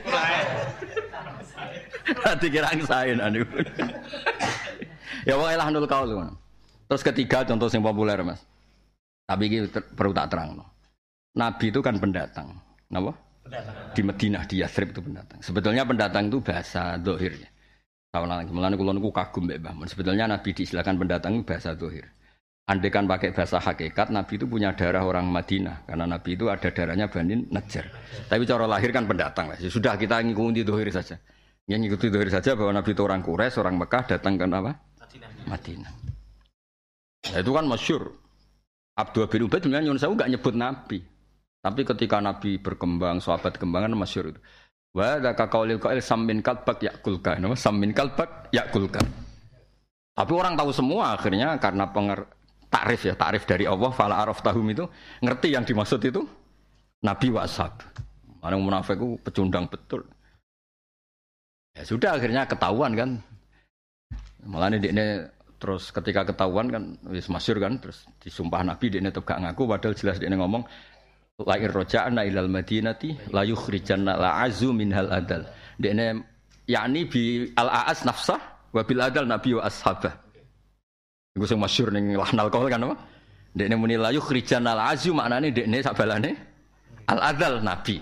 Sae. Dikira sae anu. Ya wae lah nul kaul. Terus ketiga contoh yang populer Mas. Tapi ini perlu tak terang. Nabi itu kan pendatang. Napa? Di Madinah, di Yathrib itu pendatang. Sebetulnya pendatang itu bahasa zahir. Tahun lagi, mulane kula niku kagum mbek Mbah Mun. Sebetulnya Nabi diistilahkan pendatang itu bahasa zahir. Andai kan pakai bahasa hakikat, Nabi itu punya darah orang Madinah. Karena Nabi itu ada darahnya Bani Najjar. Tapi cara lahir kan pendatang. Ya sudah kita ngikuti zahir saja. Yang ngikuti zahir saja bahwa Nabi itu orang Quraisy, orang Mekah datang ke apa? Madinah. Nah, itu kan masyhur. Abdullah bin Ubaid sebenarnya Yunus enggak nyebut Nabi. Tapi ketika Nabi berkembang, sahabat kembangan masyhur itu. Wa dzaka qaulil qail sammin kalbak yakulka. Nama sammin kalbak yakulka. Tapi orang tahu semua akhirnya karena takrif dari Allah fala araftahum itu ngerti yang dimaksud itu Nabi wa ashab. Orang munafik itu pecundang betul. Ya sudah akhirnya ketahuan kan. Malah ini terus ketika ketahuan kan wis masyhur kan terus disumpah Nabi dekne tetep gak ngaku padahal jelas dekne ngomong la irja'na ilal madinati la yukhrijanna la azu minhal adal. Dekne yakni bi al aas nafsah wa bil adal nabi wa ashabah. Iku sing masyhur ning lahnal qaul kan apa? Dekne muni la yukhrijanna al azu maknane dekne sabalane al adal nabi.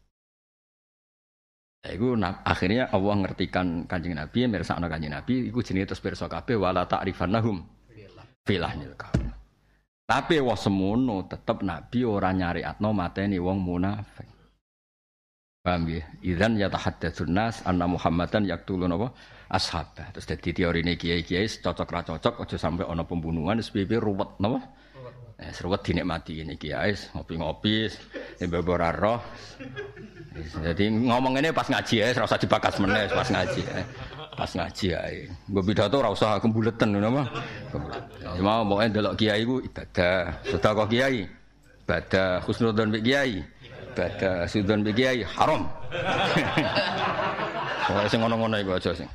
Iku akhirnya Allah ngertikan Kanjeng Nabi, mirsakno Kanjeng Nabi iku jenenge terus pirsa kabeh wala ta'rifannahum filahnil qaul. Tapi wah semono tetep Nabi ora nyariatno mateni wong munafik. Paham ya? Idzan yatahaddatsun nas anna Muhammadan yaqtulun apa? Ashabah. Terus dadi teorine kiai-kiai cocok ra cocok aja sampai ana pembunuhan wis piye ruwet napa? Seruwet dinikmati ini kiai ngopi-ngopi, mbok ora roh. Jadi ngomong ini pas ngaji ya, ora usah dibakas meneh pas ngaji. Pas ngaji ae. Mbok pidato ora usah kembuleten ngono apa? Mau pokoke delok kiai ku ibadah, sedekah kiai, ibadah, husnudzon mbek kiai, ibadah, sudzon mbek kiai haram. Ora sing ngono-ngono iku aja sing.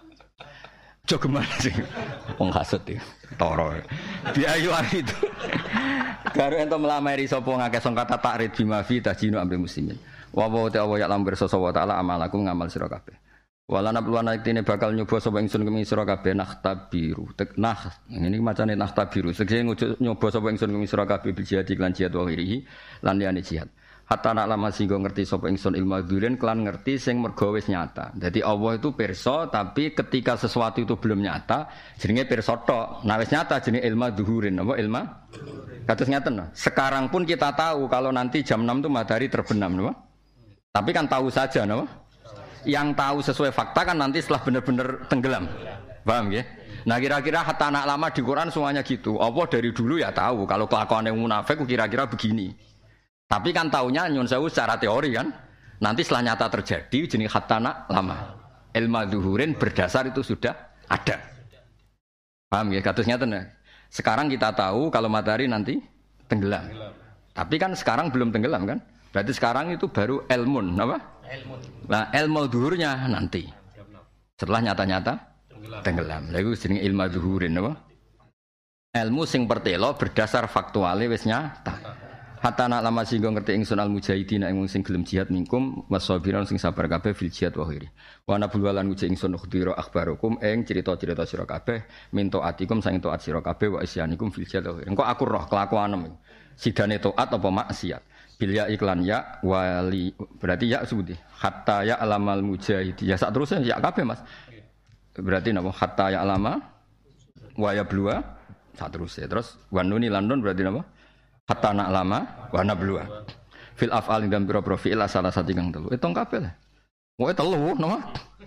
Jogeman sing wong hasud iki. Toro. Biayu itu. Karo ento melamari sapa ngakeh sangkata takrid bima fi tajinu amri muslimin. Wa wa ta'ala ya lamber sasa wa ta'ala amalakum ngamal sira kabeh. Wala nabluwana iktine bakal nyoba sapa ingsun kemi sira kabeh nakhtabiru. Teknah ngene iki macane nakhtabiru. Segese nyoba sapa ingsun kemi sira kabeh bil jihad lan jihad wa ghirihi lan liyane jihad. Hatta nak lama singgo ngerti sapa ingsun ilmu dzurin kelan ngerti sing mergo wis nyata. Jadi Allah itu pirsa tapi ketika sesuatu itu belum nyata jenenge pirsa tok. Nah wis nyata jenenge ilmu dzuhurin apa ilmu? Kados ngaten. Sekarang pun kita tahu kalau nanti jam 6 itu matahari terbenam, no? Tapi kan tahu saja, no? Yang tahu sesuai fakta kan nanti setelah benar-benar tenggelam. Paham ya? Nah kira-kira hatta anak lama di Quran semuanya gitu. Allah dari dulu ya tahu kalau kelakuan yang munafik kira-kira begini. Tapi kan taunya nyun sewu secara teori kan. Nanti setelah nyata terjadi jenis hatta anak lama. Ilmu dzuhurin berdasar itu sudah ada. Paham ya? Katusnya tenang. Sekarang kita tahu kalau matahari nanti tenggelam. Tapi kan sekarang belum tenggelam kan? Berarti sekarang itu baru ilmun, apa? Ilmun. Nah, ilmu dzuhurnya nanti. Setelah nyata-nyata tenggelam. Lha iku jenenge ilmu dzuhurin, apa? Ilmu sing pertelo berdasar faktuale wis nyata. Hatta nak lama singgo ngerti ingsun al mujahidin ing sing gelem jihad minkum wasabiran sing sabar kabeh fil jihad wa khiri. Wa nabul walan uji ingsun khudira akhbarukum ing cerita-cerita sira kabeh minto atikum sang taat sira kabeh wa isyanikum fil jihad wa khiri. Engko aku roh kelakuanem. Sidane taat apa maksiat. Bil ya iklan ya wali berarti ya sebuti. Hatta ya alamal mujahid. Ya sak terusnya ya kabeh Mas. Berarti napa hatta ya alama wa ya blua sak terusnya. Terus wanuni landon berarti napa? Hatta nak lama wa nablua fil af'al dan biro-biro fi'il salah satu kang telu itu kabeh lah wae telu napa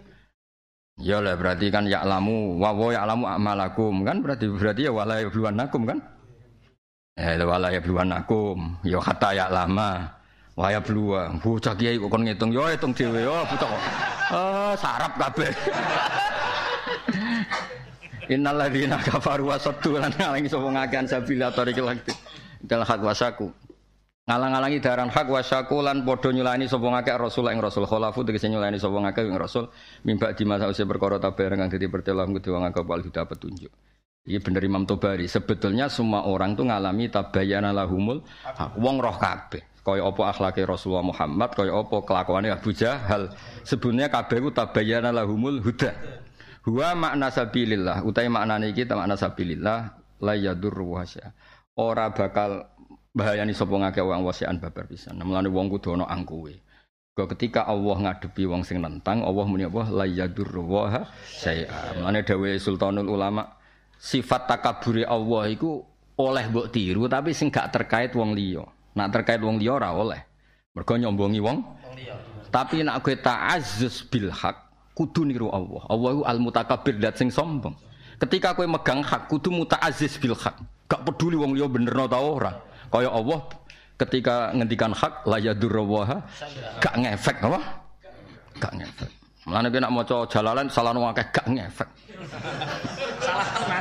ya lah berarti kan ya'lamu wa ya'lamu amalakum kan berarti ya wala yabluwanakum kan wala yabluwanakum ya hatta ya'lama wa yablua bocah kiai kok kon ngitung yo hitung dhewe yo bocah sarap kabeh innal ladzina kafaru wa saddu lan ngalangi sapa ngakean sabila tariqil haqq dal hak wasaku ngalang-alangi daran hak wasaku lan padha nyulani sapa ngakeh rasul ing rasul khalafu tegese nyulani sapa ngakeh ing rasul mimba di masa usia perkara tabar kang dadi pertelang kudu wong agak wal hidayah petunjuk. Iki bener Imam Tobari sebetulnya semua orang tuh ngalami tabayyana lahumul hak wong roh kabeh kaya apa akhlake Rasulullah Muhammad kaya apa kelakuane Abu Jahal sebenarnya kabeh ku tabayyana lahumul huda huwa makna sabilillah utahe maknane iki makna sabilillah la yadurru wasya ora bakal bahayani sapa ngake wong wasian babar pisan. Mulane wong kudu ana angkuhe. Ketika Allah ngadepi wong sing nentang, Allah muni apa? La yadurruha syai'a. Mane dawuhe Sultanul Ulama, sifat takabure Allah iku oleh mbok tiru tapi sing gak terkait wong liya. Nak terkait wong liya ora oleh. Mergo nyombongi wong liya. Tapi nak kowe ta'azzuz bil haq, kudu niru Allah. Allah iku al-mutakabbir dat sing sombong. Ketika kowe megang hak kudu muta'azziz bil haq. Gak peduli wong liya benerno ta ora. Kaya Allah ketika ngendikan hak la yadurruha gak ngefek apa? Gak ngefek. Mulane nek maca Jalalain salahno akeh gak ngefek. Salah tenan.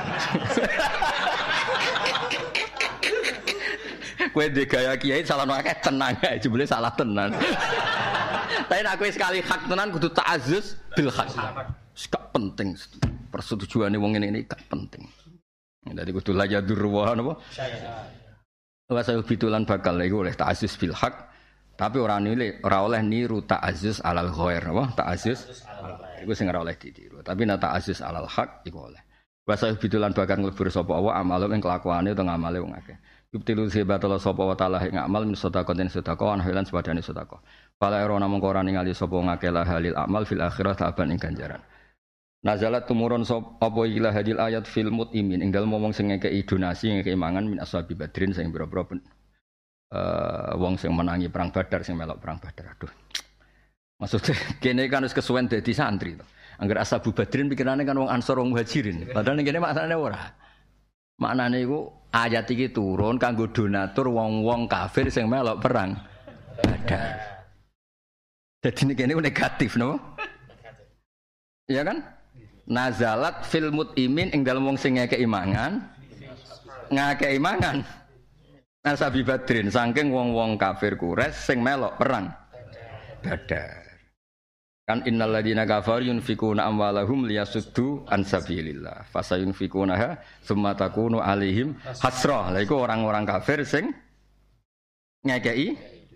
Kowe ndek gaya kiai salahno akeh tenang ae jebule salah tenan. Tapi nek kowe sekali hak tenan kudu ta'azzuz bil hak. Gak penting persetujuane wong ngene gak penting. Dadi kudu la yadurruha napa? Wa sayubitulan bakal iku oleh ta'azzuz bil haq tapi ora oleh niru ta'azzuz alal ghair apa ta'azzuz iku sing ora oleh ditiru tapi nek ta'azzuz alal haq iku oleh wa sayubitulan bakal nglebur sapa wa amalum ing kelakuane utawa ngamale wong akeh yubtilu sibatul sapa wa ta'ala ing amal min sedekah den sedekah an halan sepadane sedekah fala ora namung ora ningali sapa ngakeh la halil amal fil akhirah taban ing ganjaran. Nazalat tumurun sop apa ikilah hadil ayat fil mut'imin ing dalem wong sing ngekeki donasi ngekeki mangan min ashabi badrin sing pira-pira wong sing menangi perang Badar sing melok perang Badar. Aduh. Maksudnya kene kan wis kesuwen dadi santri to. Angger ashabu badrin pikirane kan wong Ansor wong Muhajirin. Padahal ning kene maknane ora. Maknane iku ayat iki turun kanggo donatur wong-wong kafir sing melok perang Badar. Jadi ning kene negatif no? Iya kan? Nazalat fil mut'imin ing dalem wong sing ngekeki mangan ngakeki mangan nasabi badrin saking wong-wong kafir Quraisy sing melok perang Badar kan innal ladina kafaru yunfikuna amwalahum liyasuddu an sabilillah fasayunfikunaha tsumma takunu alaihim hasrah lha iku orang-orang kafir sing ngekeki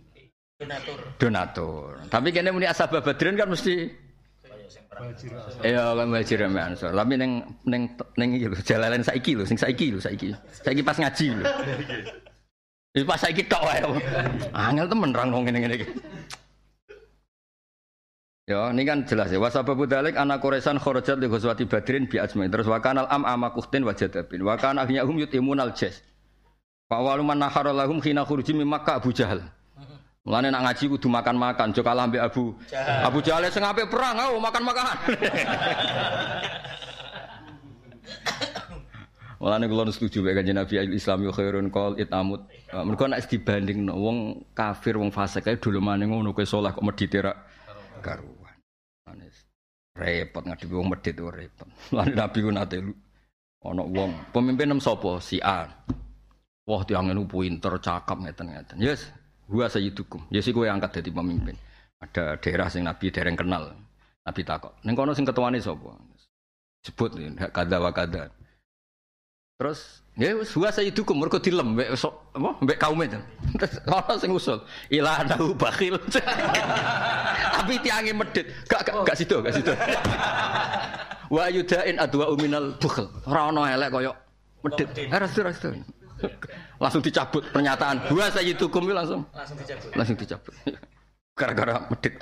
donatur tapi kene muni asbab badrin kan mesti iya kan Muhajir ambek Ansor. Tapi ning iki lho, Jalalain saiki lho, sing saiki pas ngaji lho. Wis pas saiki tok wae. Angel temen rang wong ngene-ngene iki. Ya, ini kan jelas ya. Wasababu dzalik ana Quraisyan kharajat li ghazwati Badrin bi ajmain. Terus wa kanal amakuhtin wajadabin. Wa kana ahyahum yutimunal jas. Fa waluman nahara lahum khina khuruji min Makkah Abu Jahal. Mulane nak ngaji kudu makan-makan, aja kalah mbek Abu Jahal sing apik perang, makan-makan. Mulane kula setuju mek Kanjeng Nabi al-Islam yo khairun qol itamut. Mergo nek dibandingno wong kafir, wong fasik kae dolomane ngono kowe saleh kok medhite ra karuan. Manis. Repot ngadepi wong medhit ora repot. Mulane Nabi ku nate ana wong pemimpin nem sapa? Si A. Wah, tiange nu pinter, cakep ngeten-ngeten. Yes. Gua sayyidukum. Ya sik kowe angkat dadi pemimpin. Ada daerah sing Nabi dereng kenal. Nabi takok, "Ning kono sing ketuane sapa?" Sebut kada wa kada. Terus, ya wis gua sayyidukum mergo dilem mbek apa mbek kaume. Terus ono sing usul, "Ilanahu bakhil." Tapi tiange medhit. Gak sido. Wa yudain adwa minal bukhl. Ora ono elek koyo medhit. Restu. Langsung dicabut pernyataan gua sayyidukum itu langsung dicabut gara-gara medhit.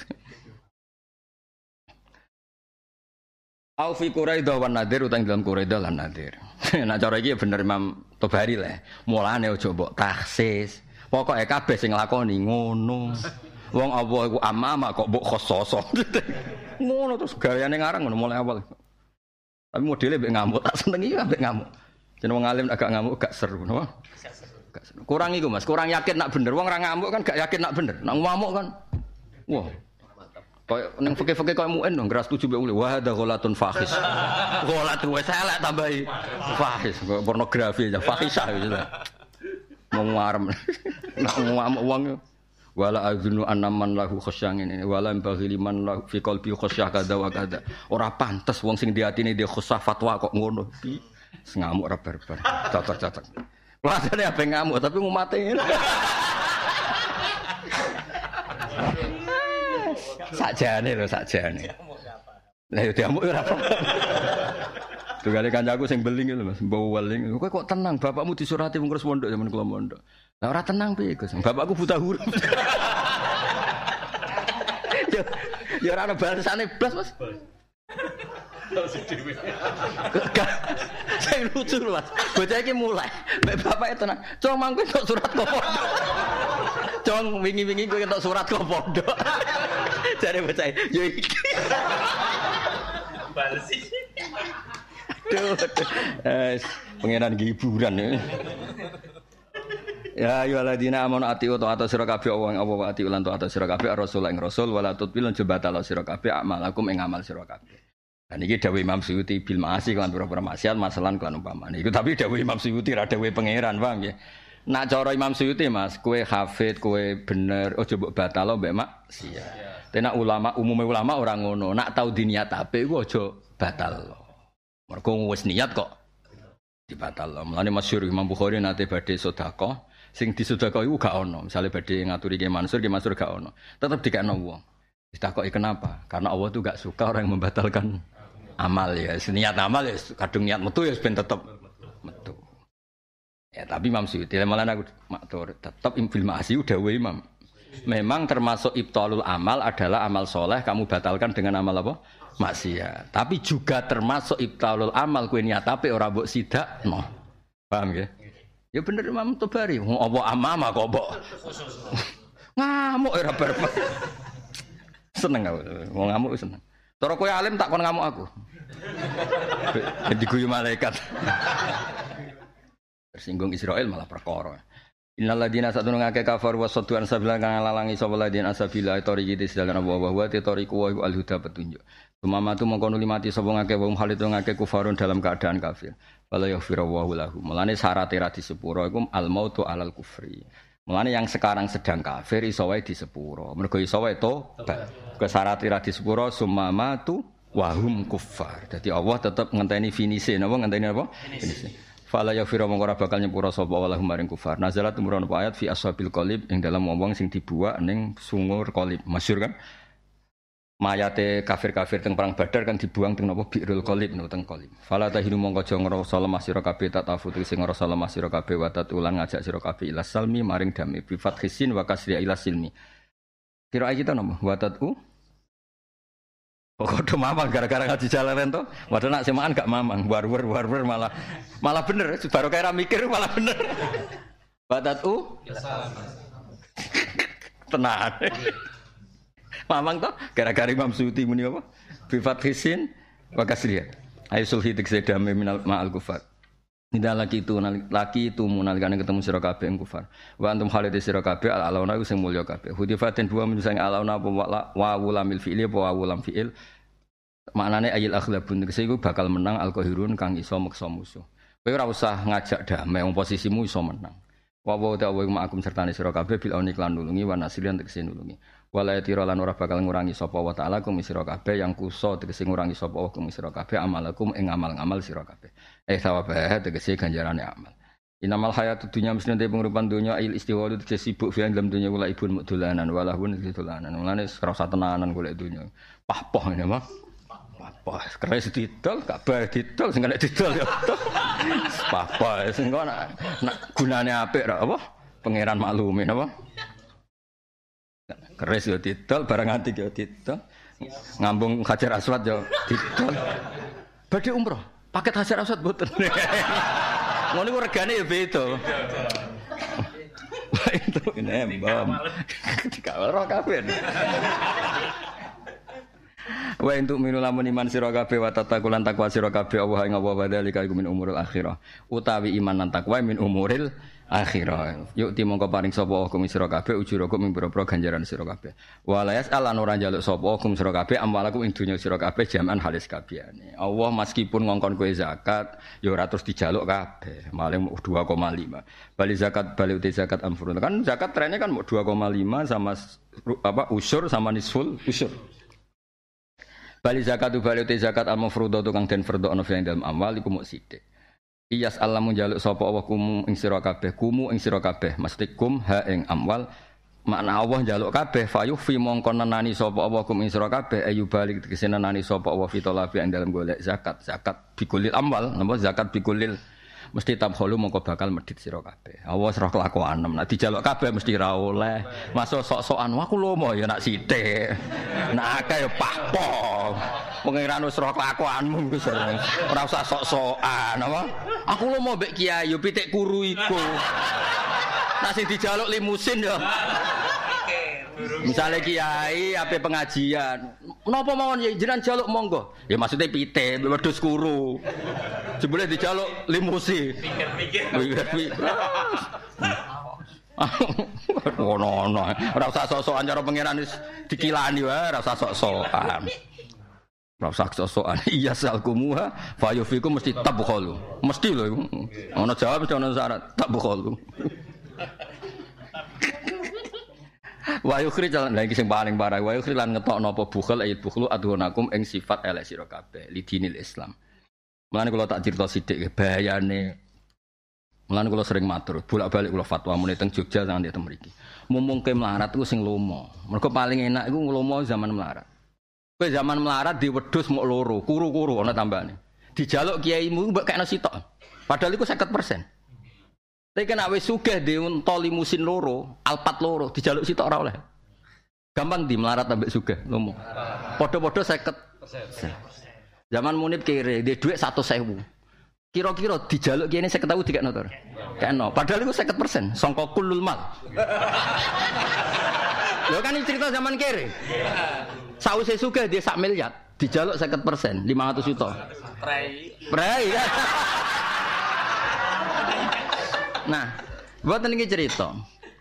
Au fi Quraidah wan Nadir utang dalam Quraidah lan Nadir. Nah cara iki bener Imam Tobari lah. Mulane aja mbok taksis. Pokoke kabeh sing nglakoni ngono. Wong Allah iku amama kok mbok khososo. Ngono terus gayane ngarang ngono mulai awal. Tapi modele mbek ngamuk tak senengi mbek ngamuk. Jeneng wong alim agak ngamuk gak seru, napa? Gak seru. Kurang iku Mas, kurang yakin nak bener. Wong ora ngamuk kan gak yakin nak bener. Nak ngamuk kan. Wah. Kayak ning fikih-fikih koyo muin dong, ora setuju mbek wa hadza ghalatun fahis. Ghalat wis elek tambahi fahis, pornografi aja fahisah gitu. Mau ngarem. Nak ngamuk wong wala azunu annaman lahu khasyang ini wala baghiliman lahu fi qalbi khasyah kada wa kada. Ora pantes wong sing di atine dia khasyah fatwa kok ngono. Ngamuk ora barbar. Cocok. Wadane ape ngamuk tapi ngumate. Sakjane. Lah yo diamuk ora apa. Tugale kancaku sing beling lho Mas, mbau weling. Kowe kok tenang, bapakmu disurati wong terus mondok zaman kula mondok. Lah ora tenang piye, Gus? Bapakku buta huruf. Ya ora ana balesane blas, Mas. Saya lucu Mas. Bocah iki mulai. Mbak bapake tenang. Cong mangko entuk surat kok pondok. Cong wingi-wingi kowe entuk surat kok pondok. Jare bocah, yo iki. Balesi. Duh. Pengenan hiburan ya. Ya ayyuhalladzina amanu atiu ta'ata sira kabeh Allah wa atiu lan ta'ata sira kabeh rasul ing rasul wala tutbil jebatala sira kabeh amalakum ing amal sira kabeh. Dan iki dawuh Imam Suyuti bil ma'asi kan pira-pira maksiat masalan kan umpamane. Iku tapi dawuh Imam Suyuti ra dawuh pangeran, paham nggih. Nak cara Imam Suyuti Mas, kowe hafid, kowe bener aja mbok batalo mbek maksiat. Tenak ulama umume ulama ora ngono. Nak tau diniat ape iku aja batal. Mergo wis niat kok dibatal. Mulane masyhur Imam Bukhari nate badhe sedekah, sing disedekah iku gak ono. Misale badhe ngaturi Ki Mansur gak ono. Tetep dikekno wong. Ditakoki kenapa? Karena Allah tuh gak suka orang yang membatalkan amal ya. Niat amal ya kadung niat metu ya ben tetep metu. Ya tapi Imam Suyuti malah aku matur tetep fil ma'asi udah Imam. Memang termasuk ibtalul amal adalah amal soleh kamu batalkan dengan amal apa? Maksiat. Tapi juga termasuk ibtalul amal kowe niat apik ora mbok sidakno. Paham ya? Ya bener Imam Tobari. Apa amama kok mbok ngamuk ora bareng. Seneng aku. Wong ngamuk seneng. Cara kowe alim tak kon ngamuk aku. Diguyu malaikat. Tersinggung Israel malah perkara. Innal ladina satuna ngake kafar wa sadduan sabila kang lalangi sapa ladina asabila tariqi disdalan wa tariqu wa al-huda petunjuk. Sumamatu mongko nuli mati sapa ngake wong halit ngake kufarun dalam keadaan kafir. Wala yaghfiru wa lahum. Mulane syarat ra disepuro iku al-mautu alal kufri. Mulane yang sekarang sedang kafir iso wae disepuro. Mergo iso wae tobat. Kesyarat ra disepuro sumamatu wa hum kuffar. Dadi Allah tetep ngenteni finise napa ngenteni apa? Finise. Fala yaghfiru mongko ora bakal nyepuro sapa walahum maring kufar. Nazalat tumurun ayat fi ashabil qalib ing dalam wong-wong sing dibuak ning sungur qalib. Masyhur kan? Mayate kafir-kafir teng perang Badar kan dibuang teng napa Bi'rul Qalib no teng qalib. Fala tahinu mongko aja ngrasa lemah sira kabeh tatafuti sing ngrasa lemah sira kabeh wa tatulan ngajak sira kabeh ila salmi maring damai bi fathisin wa kasri ila silmi. Kira kita napa? Wa tatu Pokoknya mamang gara-gara ngaji jalanan tuh, padahal nak semaan gak mamang, warwer malah bener, baru kayak mikir malah bener. Batatu, tenang. Mamang tuh gara-gara Imam Suyuti muni apa? Bifat hisin, wakas lihat. Ayo sulhi tekse damai minal ma'al kufar. Tidak laki itu munalikane ketemu sira kabeh ing kufar. Wa antum khalid sira kabeh al-alauna sing mulya kabeh. Hudifatin dua min sang alauna apa wa wulamil fi'li apa wa wulam fi'il. Maknane ayil akhlabun kese iku bakal menang al-qahirun kang iso meksa musuh. Kowe ora usah ngajak damai wong posisimu iso menang. Wa wa ta'wa ma'akum sertane sira kabeh bil auni lan nulungi wa nasriyan tekse nulungi. Wala yatira lan ora bakal ngurangi sapa wa ta'ala kum sira kabeh yang kuso tegese ngurangi sapa wa kum sira kabeh amalakum ing amal-amal sira kabeh. Sawabah tegese ganjarane amal. Inamal hayatud dunya mesti te penguripan dunya il istiwa tegese sibuk fiang dalam dunya kula ibun mudulanan walahun ditulanan. Mulane ora usah tenanan golek dunya. Pah-poh ngene mah. Pah-poh keres didol gak bae didol sing nek didol ya. Pah-poh sing kok nak gunane apik ra apa? Pangeran maklume napa? Keres yo didol barang antik yo didol. Ngambung Hajar Aswad yo didol. Badhe umroh. Paket Hajar Aswad mboten. Ngono iku regane ya beda. Wah itu nembam. Dikawal ro kabeh. Wa entuk minu lamun iman sira kabeh wa tatakulan takwa sira kabeh Allah ing apa badalika iku min umuril akhirah. Utawi iman lan takwa min umuril akhirah. Yuk ti mongko paring sapa hukum sira kabeh ujuraku min boro-boro ganjaran sira kabeh. Walayas alan ora njaluk sapa hukum sira kabeh amwalaku ing dunya sira kabeh jaman halis kabehane. Allah meskipun ngongkon kowe zakat ya ora terus dijaluk kabeh. Maling 2,5. Bali uti zakat amfurun. Kan zakat trennya kan 2,5 sama apa usur sama nisful usur. Bali zakatu bali uti zakat al-mafruḍah tukang den fardhono fi dalam amal iku muk sithik. Iyas Allah munjaluk sapa Allah kumu ing sira kabeh mesti kum ha ing amwal makna Allah njaluk kabeh fayuh fi mongkon nenani sapa Allah kum ing sira kabeh ayu balik tegese nenani sapa Allah fi talabi ing dalam golek zakat bikulil amwal napa zakat bikulil mesti tabkhulu mongko bakal medhit sira kabeh. Awas roh kelakuanem. Nek dijaluk kabeh mesti ra oleh. Masuk sok-sokan aku lomo ya nak sithik. Nek akeh ya pakpo. Pengiran wis roh kelakuanmu wis ora usah sok-sokan apa. Aku lomo mbek kiai yo pitik kuru iku. Nek sing dijaluk limusin ya. Misalnya kiai ape pengajian, menapa mawon ya jenengan jaluk monggo. Ya maksudnya pitik, wedhus kuru. Jebule dijaluk limusi. Pikir-pikir. Ngono-ngono. Ora usah sok-sokan cara pangeran wis dikilani wae, ora usah sok-sokan. Ora usah sok-sokan. Iya salkumuha fayufikum mesti tabkhulu. Mesti lho iku. Ono jawab ono syarat tabkhulu. Wa yukhrij lagi sing paling parah wa yukhrij lan ngetokno apa bukhul ayat bukhlu adhunakum ing sifat elek sira kabeh lidinil Islam. Mulane kula tak crita sithik bahayane. Mulane kula sering matur, bolak-balik kula fatwa muni teng Jogja nganti teng mriki. Mumungke melarat iku sing lomo. Mergo paling enak iku nglomo zaman melarat. Kowe zaman melarat di wedhus mok loro, kuru-kuru ana tambane. Dijaluk kiaimu mbok kekno sitok. Padahal iku 50%. Tapi kena wis sugih di unta limusin loro, alpat loro, dijaluk sitok ora oleh. Gampang di melarat ambek sugih lomo. Padha-padha 50%. Zaman Munib kere, dia duit 100.000. Kira-kira dijaluk kene 50.000 dikekno to. Kekno. Padahal iku 50%, sangka kulul mal. Lho kan cerita zaman kere. Sawise sugih dia 1 miliar, dijaluk 50%, 500 juta. Prei. Nah, mboten iki cerita.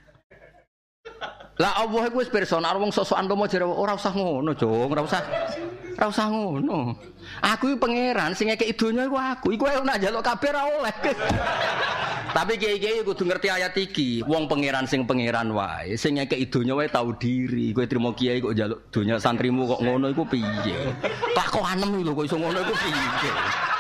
Lah Allah iku wis personal wong sok-sokan lomo jare ora usah ngono, Jong, ora usah ngono. Aku iki pangeran sing ngekeki donya iku aku. Iku ae nak njaluk kabeh ora oleh. Tapi kiai-kiai kudu ngerti ayat iki. Wong pangeran sing pangeran wae, sing ngekeki donya wae tau diri. Kowe trimo kiai kok njaluk donya santrimu kok ngono iku piye? Kelakuanem lho kok iso ngono iku piye?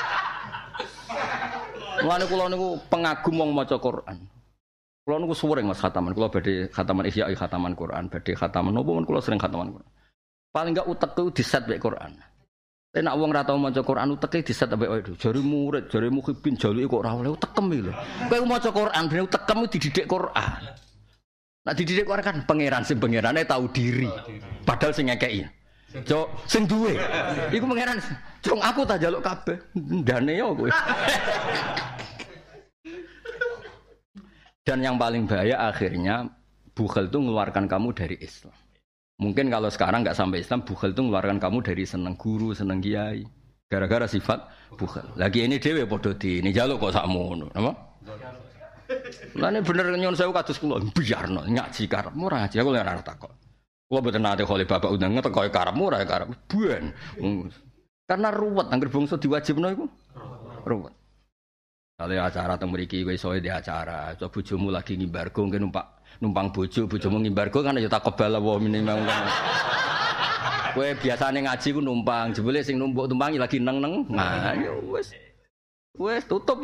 Mulane kula niku pengagum wong maca Quran. Kula niku suwering Mas khataman. Kula badhe khataman Ihya, khataman Quran, badhe khataman nopo men kula sering khataman Quran. Paling enggak utekku diset mek Quran. Tapi nek wong ora tau maca Quran uteke diset ambek wae. Jare murid, jare mukhibin jaluke kok ora oleh utekem iki lho. Kowe maca Quran ben utekem dididik Quran. Nek dididik Quran kan pangeran sing pangerane tau diri. Padahal sing ngekeki. Cok, sing duwe. Iku pangeran. Cung aku tak njaluk kabeh. Ndane yo kowe. Dan yang paling bahaya akhirnya bukhel itu mengeluarkan kamu dari Islam. Mungkin kalau sekarang nggak sampai Islam, bukhel itu mengeluarkan kamu dari seneng guru, seneng kiai. Gara-gara sifat bukhel. Lagi ini dhewe padha di ini jaluk kok sakmono, apa? Lah ini bener nyun sewu kados kula biarno ngaji karepmu ora ngaji aku ora takok. Kula mboten nate khole bapak undang teko karepmu ora karep buan. Karena ruwet anggere bangsa diwajibno iku. Ruwet. Kalau acara teng mriki kowe iso di acara, coba bojomu lagi ngimbargo mungkin numpang bojomu ngimbargo kan ya takobal wa minimal. Kowe biasane ngaji ku numpang, jebule sing numpuk tumpangi lagi neng-neng. Nah, ya wis. Wis tutup.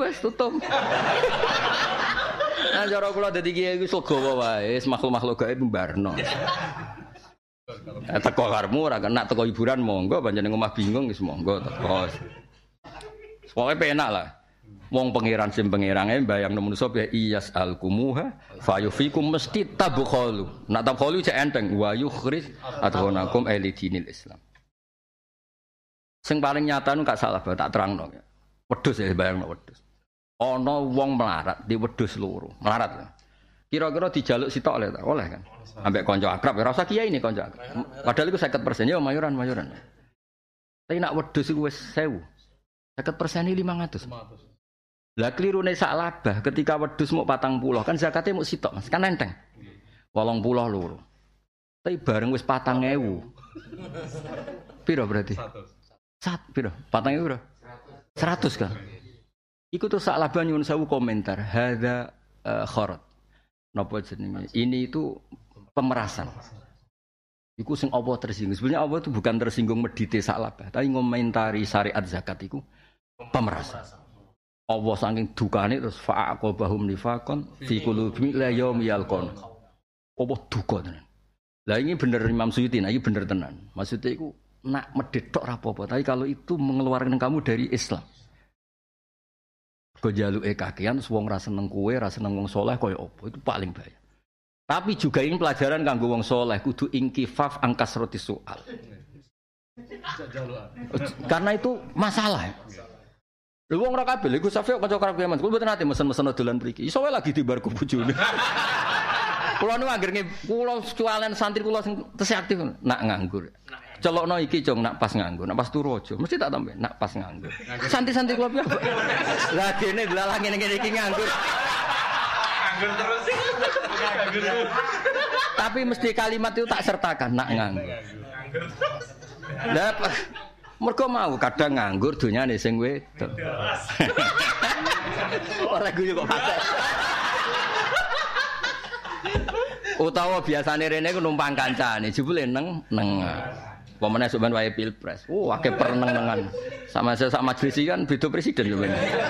Nah, cara kula dadi kiai iku segawa wae, makhluk-makhluk gaib mbarno. Teko karepmu ora kena teko hiburan monggo, pancen omah bingung wis monggo teko. Pokoke penak lah. Wong pangeran sing pangerane mbayangno manusa ya iyas alkumuha fayufikum mesti tabkhulu. Nak tabkhulu cek enteng wa yukhrij adhunakum elidinil Islam. Sing paling nyata nu gak salah tak terangno. Wedhus ya bayangno wedhus. Ana wong melarat di wedhus loro. Melarat lho. Kira-kira dijaluk sitok oleh kan. Ambek kanca akrab ora usah kiai ini kanca akrab. Padahal iku 50% ya mayuran. Tapi nak wedhus iku wis 1000. 50% ini 500. Lah klirune sak labah ketika wedhus muk 40 kan zakate muk sitok Mas, kan enteng. 80 loro. Tapi bareng wis 4000. Piro berarti? 100. Piro? 4000 piro? 100 kan. Iku tuh sak labah nyuwun sewu komentar. Hadza kharat. Napa jenenge? Ini itu pemerasan. Iku sing Allah tersinggung. Sebenarnya Allah itu bukan tersinggung medite sak labah, tapi ngomentari syariat zakat iku pemerasan. Allah saking dukane terus fa'aqabahum nifaqan fi qulubihim la yaumi yalqon. Allah duka tenan. Lah ini bener Imam Suyuti, nah ini bener tenan. Maksudnya iku nak medhit tok ra apa-apa, tapi kalau itu mengeluarkan kamu dari Islam. Kok jaluke kakean wong ra seneng kowe, ra seneng wong saleh kaya apa? Itu paling bahaya. Tapi juga ini pelajaran kanggo wong saleh kudu ingkifaf angkas roti soal. Karena itu masalah. Lha wong ora kabeh iku Safi kanca karep Yaman. Kulo mboten nate mesen-mesen dolan mriki. Iso wae lagi dibar ku bojone. Kulo nu anggere kulo cualen santri kulo sing tesih aktif nak nganggur. Celokno iki Jong nak pas nganggur, nak pas turu aja. Mesti tak tambahin nak pas nganggur. Santri-santri kulo piye? Lah dene delalah ngene-ngene iki nganggur. Nganggur terus. Tapi mesti kalimat itu tak sertakan nak nganggur. Lah mergo mau kadang nganggur donyane sing wedok. Ora guyu kok patek. Utawa biasane rene ku numpang kancane, jebule neng. Pemene sok ben wae pilpres. Akeh pereneng-nengan. Sama sak majelis kan beda presiden yo ben.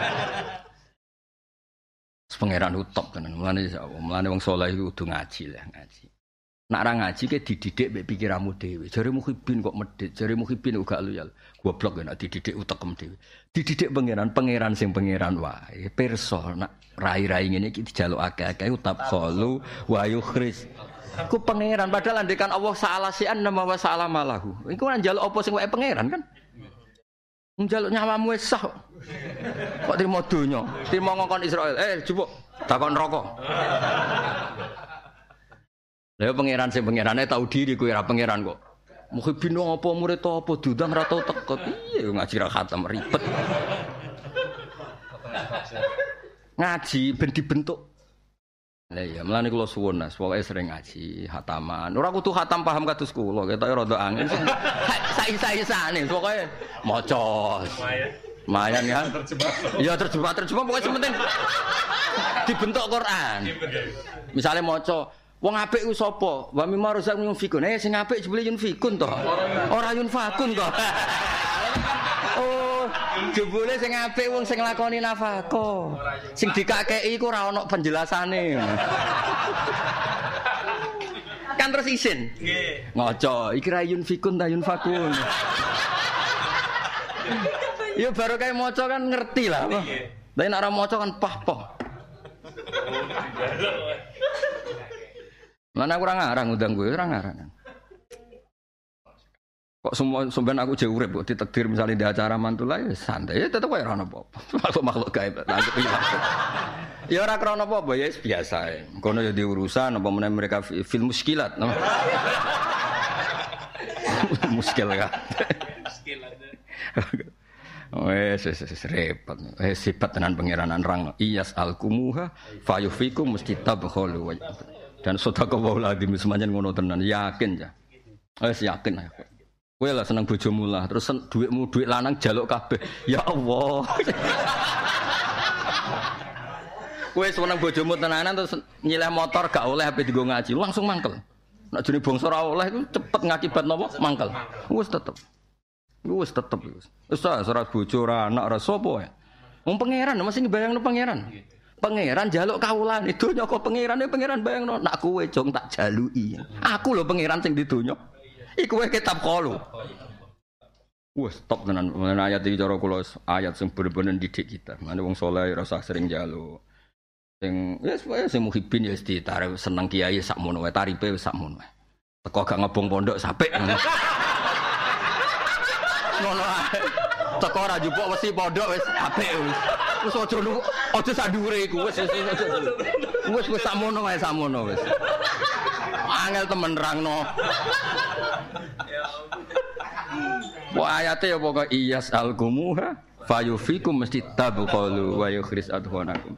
Pangeran utop tenan. Mulane wong saleh iku kudu ngaji lah, ngaji. Nak ra ngaji ke dididik mbek pikiranmu dhewe. Jare muhibin kok medhit, jare muhibin kok gak loyal. Goblok nek dididik utekem dhewe. Dididik pangeran sing pangeran wae. Pirsa nak rai-rai ngene iki dijaluk akeh-akeh utap khalu wa yukhris. Ku pangeran padahal andekan Allah salah sian nama wa salah malahu. Iku kan njaluk apa sing wae pangeran kan? Njaluk nyawamu wis sah. Kok trimo donya, trimo ngongkon Israel. Jupuk takon neraka. Lha pangeran sing pangerane tau diri kowe ora pangeran kok. Muhibin apa murid apa dudang ora tau teko. Piye ngaji ra khatam ribet. Ngaji ben dibentuk. Lah iya, mlane kula suwun Mas, pokoke sering ngaji, khataman. Ora kudu khatam paham kados kula, ketoke rada angin. Sae-sae-sae pokoke maca. Lumayan kan? Iya terjemah pokoke penting dibentuk Quran. Misale maca wong apik ku sapa? Wa mimma razaqnahum yunfikun. Sing apik jebule yunfikun to. Ora yunfakun to. Oh, jebule sing apik wong sing nglakoni nafako. Sing dikakeki iku ora ana penjelasane. Kan terus isin. Nggih. Ngaca, iki ra yunfikun ta yunfakun. Ya baru kayak maca kan ngerti lah. Tapi nek ora maca kan pah-pah. Mana kurang ngarang udang gue, kurang ngarang. Kok semua sampean aku jauh urip kok ditakdir misalnya di acara mantul ae santai ya tetep wae ora ono apa-apa. Makhluk gaib lanjut iki. Ya ora krana apa-apa ya biasa ae. Kono ya diurusan apa meneh mereka film muskilat. Muskil kan. Muskilat. Wes repot. Sifat tenan pangeran rang iyas alkumuha fayufikum mustitabkhulu wa dan sedekah wae ladim semanjen ngono tenan yakin ya. Wes yakin ae. Kowe lah seneng bojomu lah terus dhuwitmu dhuwit lanang jaluk kabeh. Ya Allah. Kowe seneng bojomu tenanan terus nyileh motor gak oleh ape digo ngaji langsung mangkel. Nek jene bangsa ora oleh iku cepet ngakibat napa? Mangkel. Wis tetep. Wis. Wis ora bojo ora anak ora sapa wae. Wong pangeran mesti ngebayangno pangeran. Pangeran jaluk kawulan itu nyoko pangerane pangeran bayangno nak kowe jong tak jaluki. Aku lho pangeran sing di donya. Iku wae kitab qalu. Wes top tenan ayat iki cara kula ayat sing bener-bener didik kita. Mane wong saleh ora usah sering njaluk. Sing wis wae sing muhibin ya ditarep seneng kiai sakmono wae taripe wis sakmono wae. Teko gak ngebong pondok sapik. Ngono ae. Teko ora jupuk mesti pondok wis apik wis. Wis aja sak dhuwure iku wis sakmono wae sakmono wis. Angel temen rangno. Wah ayate ya pokoke iyas alkumuha fayufikum mesti tabqalu wa yukhris adhanakum.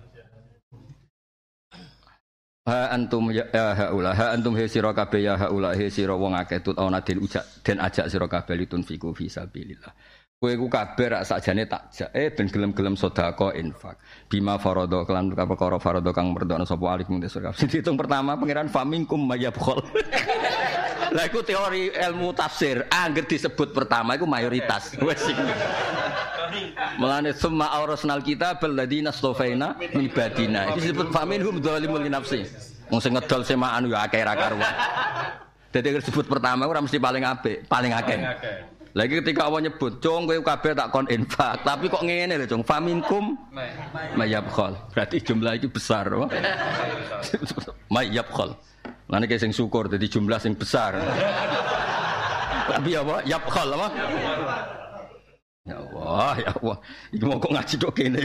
Ha antum ya haula ha antum he sira kabeh ya haula he sira wong akeh tut ana den ajak sira kabeh litun fiku fi sabilillah. Kowe ku kabeh rak sakjane tak jak ben gelem-gelem sedekah infak. Bima farada kelan perkara farada kang merdana sapa alikum desur kabeh. Dihitung pertama pangeran famingkum mayabkhol. Lah iku teori ilmu tafsir, angger disebut pertama iku mayoritas. Wes iki. Mulane summa aurasnal kitab alladziina stofaina min badina. Iki disebut faminhum dzalimun li nafsi. Wong sing ngedol semaan yo akeh ra karuan. Dadi disebut pertama ora mesti paling apik, paling akeh. Lagi ketika Allah nyebut, "Cung kowe kabeh tak kon infak." Tapi kok ngene lho, Cung. Faminkum mayabkhal. Berarti jumlah itu besar, apa? Mayabkhal. Lan iki sing syukur dadi jumlah sing besar. Tapi apa? Yabkhal apa? Ya Allah, ya Allah. Iki mau kok ngaji kok kene.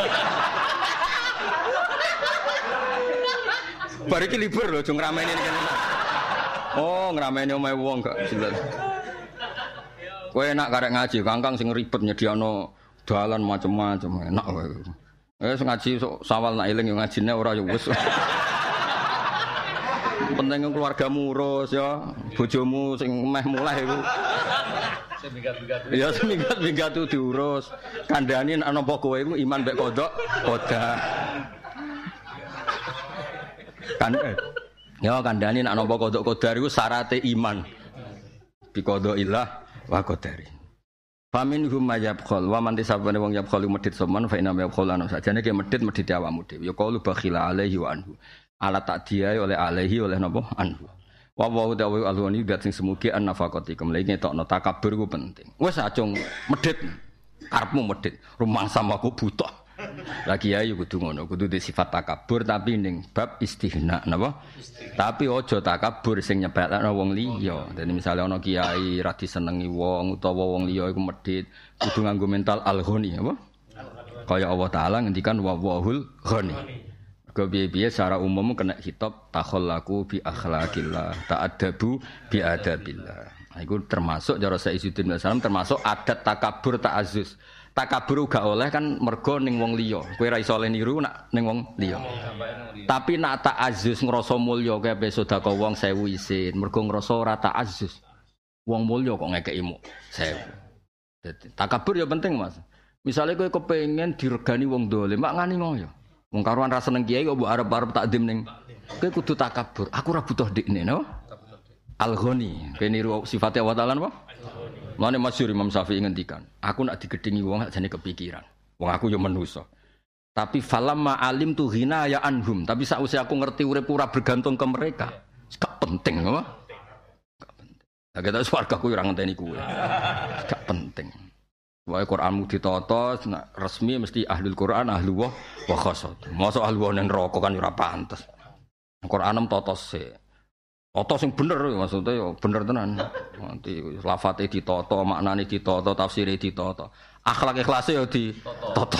Bar iki libur lho, Cung ramene kene. Oh, ngrameni omahe wong gak jelas. Kowe enak karek ngaji, kangkang sing ribet nyediano dalan macam-macam, enak kowe. Wis ngaji sawal nak eling yo ngajine ora yo wis. Penting keluargamu urus ya, bojomu sing meh mulai iku. Ya seminggat diurus. Kandhane nek napa kowe iku iman mbek kodok, koda. Kan ya kandhane nek napa kodok kodar iku syaraté iman. Bi qodailah wa qadari. Faminhum mayabkhal wa man tisabane wong yabkhalu medhit semen fa inna yabkhalana sajane ki medhit awakmu dhewe. Ya qalu bakhila alaihi wa anhu. Ala takdiai oleh alaihi oleh napa anhu. Wa wa ta'ala alwani dat sing semugi an nafaqati kemlene tokno takabur ku penting. Wis acung medhit karepmu medhit rumangsa aku butuh. Lagi ayo kudu ngono, kudu di sifat takabur tapi ning bab istihna napa? Tapi aja takabur sing nyepelekno wong liya. Dene misale ana kiai ra disenengi wong utawa wong liya iku medhit, kudu nganggo mental al-ghani apa? Kaya Allah taala ngendikan wa wahul ghani. Mergo piye-piye secara umum kena kitab takhallaku bi akhlaqillah, ta'addabu bi adabillah. Iku termasuk cara Sayyidina Rasulullah termasuk adat takabur ta'azzuz. Takabur gak oleh kan mergo ning wong liya. Kowe ra iso niru nak ning wong liya. Tapi nak ta'azzuz ngrasa mulya kowe ape sedekah wong 1000 isin. Mergo ngrasa ora ta'azzuz. Wong mulya kok ngekeki 1000. Dadi takabur ya penting, Mas. Misale kowe kepengin diregani wong dolim, mak ngani ngoyo. Wong karuan ra seneng kiai kok mbok arep-arep takdim ning. Kowe kudu takabur. Aku ora butuh dikne, no? Al-Ghani. Kowe niru sifate Allah Ta'ala apa? Mane masyhur Imam Syafi'i ngendikan, aku nak digedhingi wong jane kepikiran. Wong aku yo manusa. Tapi falamma alim tu ghina ya anhum, tapi sakwise aku ngerti urip ora bergantung ke mereka. Gak penting apa? Gak penting. Lah kita swarga ku ora ngenteni kuwe. Gak penting. Wae Qur'anmu ditata resmi mesti ahlul Qur'an, ahlullah wa khassat. Mosok ahlullah nang neraka kan ora pantes. Qur'anem tata sik. Tata sing bener maksudnya ya bener tenan. Nanti lafate ditata, maknane ditata, tafsire ditata. Akhlak ikhlase ya ditata.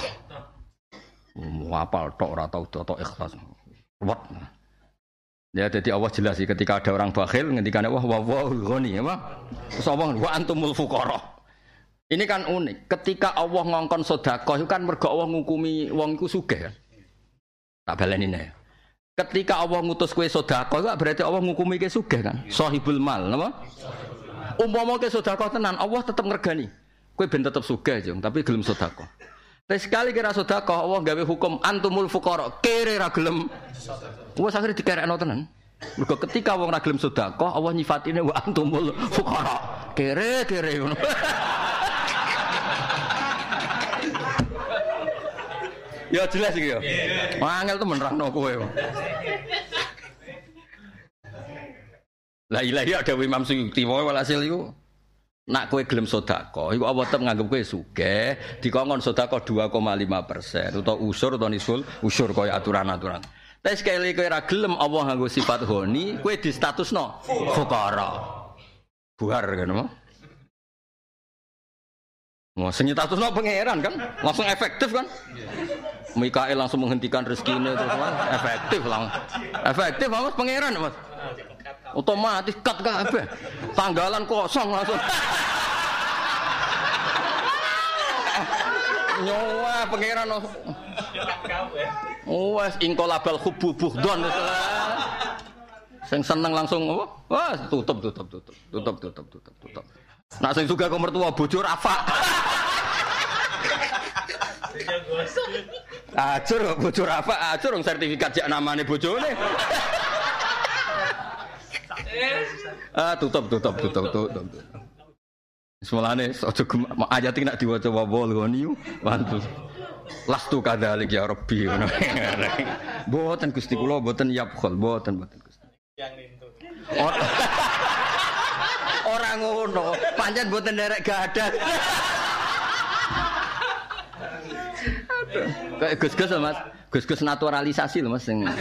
Apal tok ora tau tata ikhlas. Ruwet. Ya jadi Allah jelas sih ketika ada orang bakhil ngendikane wah ghani apa? Terus Allah wa antumul fuqara. Ini kan unik. Ketika Allah ngongkon sedekah itu kan mergo Allah ngukumi wong iku sugih kan. Tak baleni nek. Ketika Allah ngutus kowe sedekah itu berarti Allah ngukumi kowe sugih kan? Sahibul mal, napa? Umpama kowe sedekah tenan, Allah tetep ngregani. Kowe ben tetep sugih, Jung, tapi gelem sedekah. Tapi sekali kira sedekah, Allah gawe hukum antumul fuqara, kere ra gelem. Wes akhire dikerekno tenan. Mergo ketika wong ra gelem sedekah, Allah nyifatine wa antumul fuqara. Kere ngono. Ya jelas iki ya. Angel temen rano kowe. La ilaha ada Imam Suyuti wae walhasil iku nak kowe gelem sedekah iku Allah tetep nganggep kowe sugih dikongkon sedekah 2,5% utawa usur utawa nisul usur kaya aturan-aturan. Tapi sekali kowe ra gelem Allah nganggo sifat ghani kowe di statusno fuqara. Buar kan apa? Mau statusno pangeran kan langsung efektif kan? Mikael langsung menghentikan rezekinya terus efektif Mas pangeran Mas otomatis cut kabeh tanggalan kosong langsung nyawa pangeran wes ingkolabal hubbu buhdon sing seneng langsung apa wah tutup nak sing juga mertua bojo rafa Acur bojor apa? Acur sertifikat jak namane bojone. Tutup. Semulane aja ayat iki nek diwaca wawol ngoni wantu. Lastu kadzalik ya Rabbi ngono. Mboten Gusti kula mboten yabkhul, mboten Gusti. Yang lintu. Ora ngono, pancen mboten nderek gadah. Kayak Gus-gus lho Mas. Gus-gus naturalisasi lho Mas sing.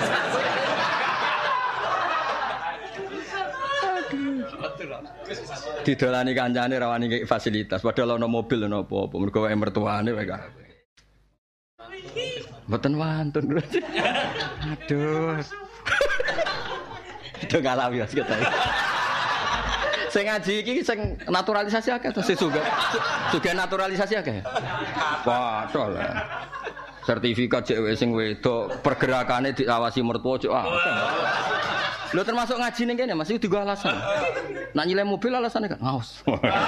Didolani kancane rawani kayak fasilitas padahal ana mobil ana apa-apa mergo wae mertuane wae kabeh. Mboten wantun. Aduh. Itu ngalawi ya kita. Sing ngaji iki sing naturalisasi akeh to sing juga naturalisasi akeh. Padahal sertifikat cewek sing wedok pergerakane diawasi mertua cek lho termasuk ngaji ning kene Mas iki digo alasan. Nak nyileh mobil alasane kan ngaos.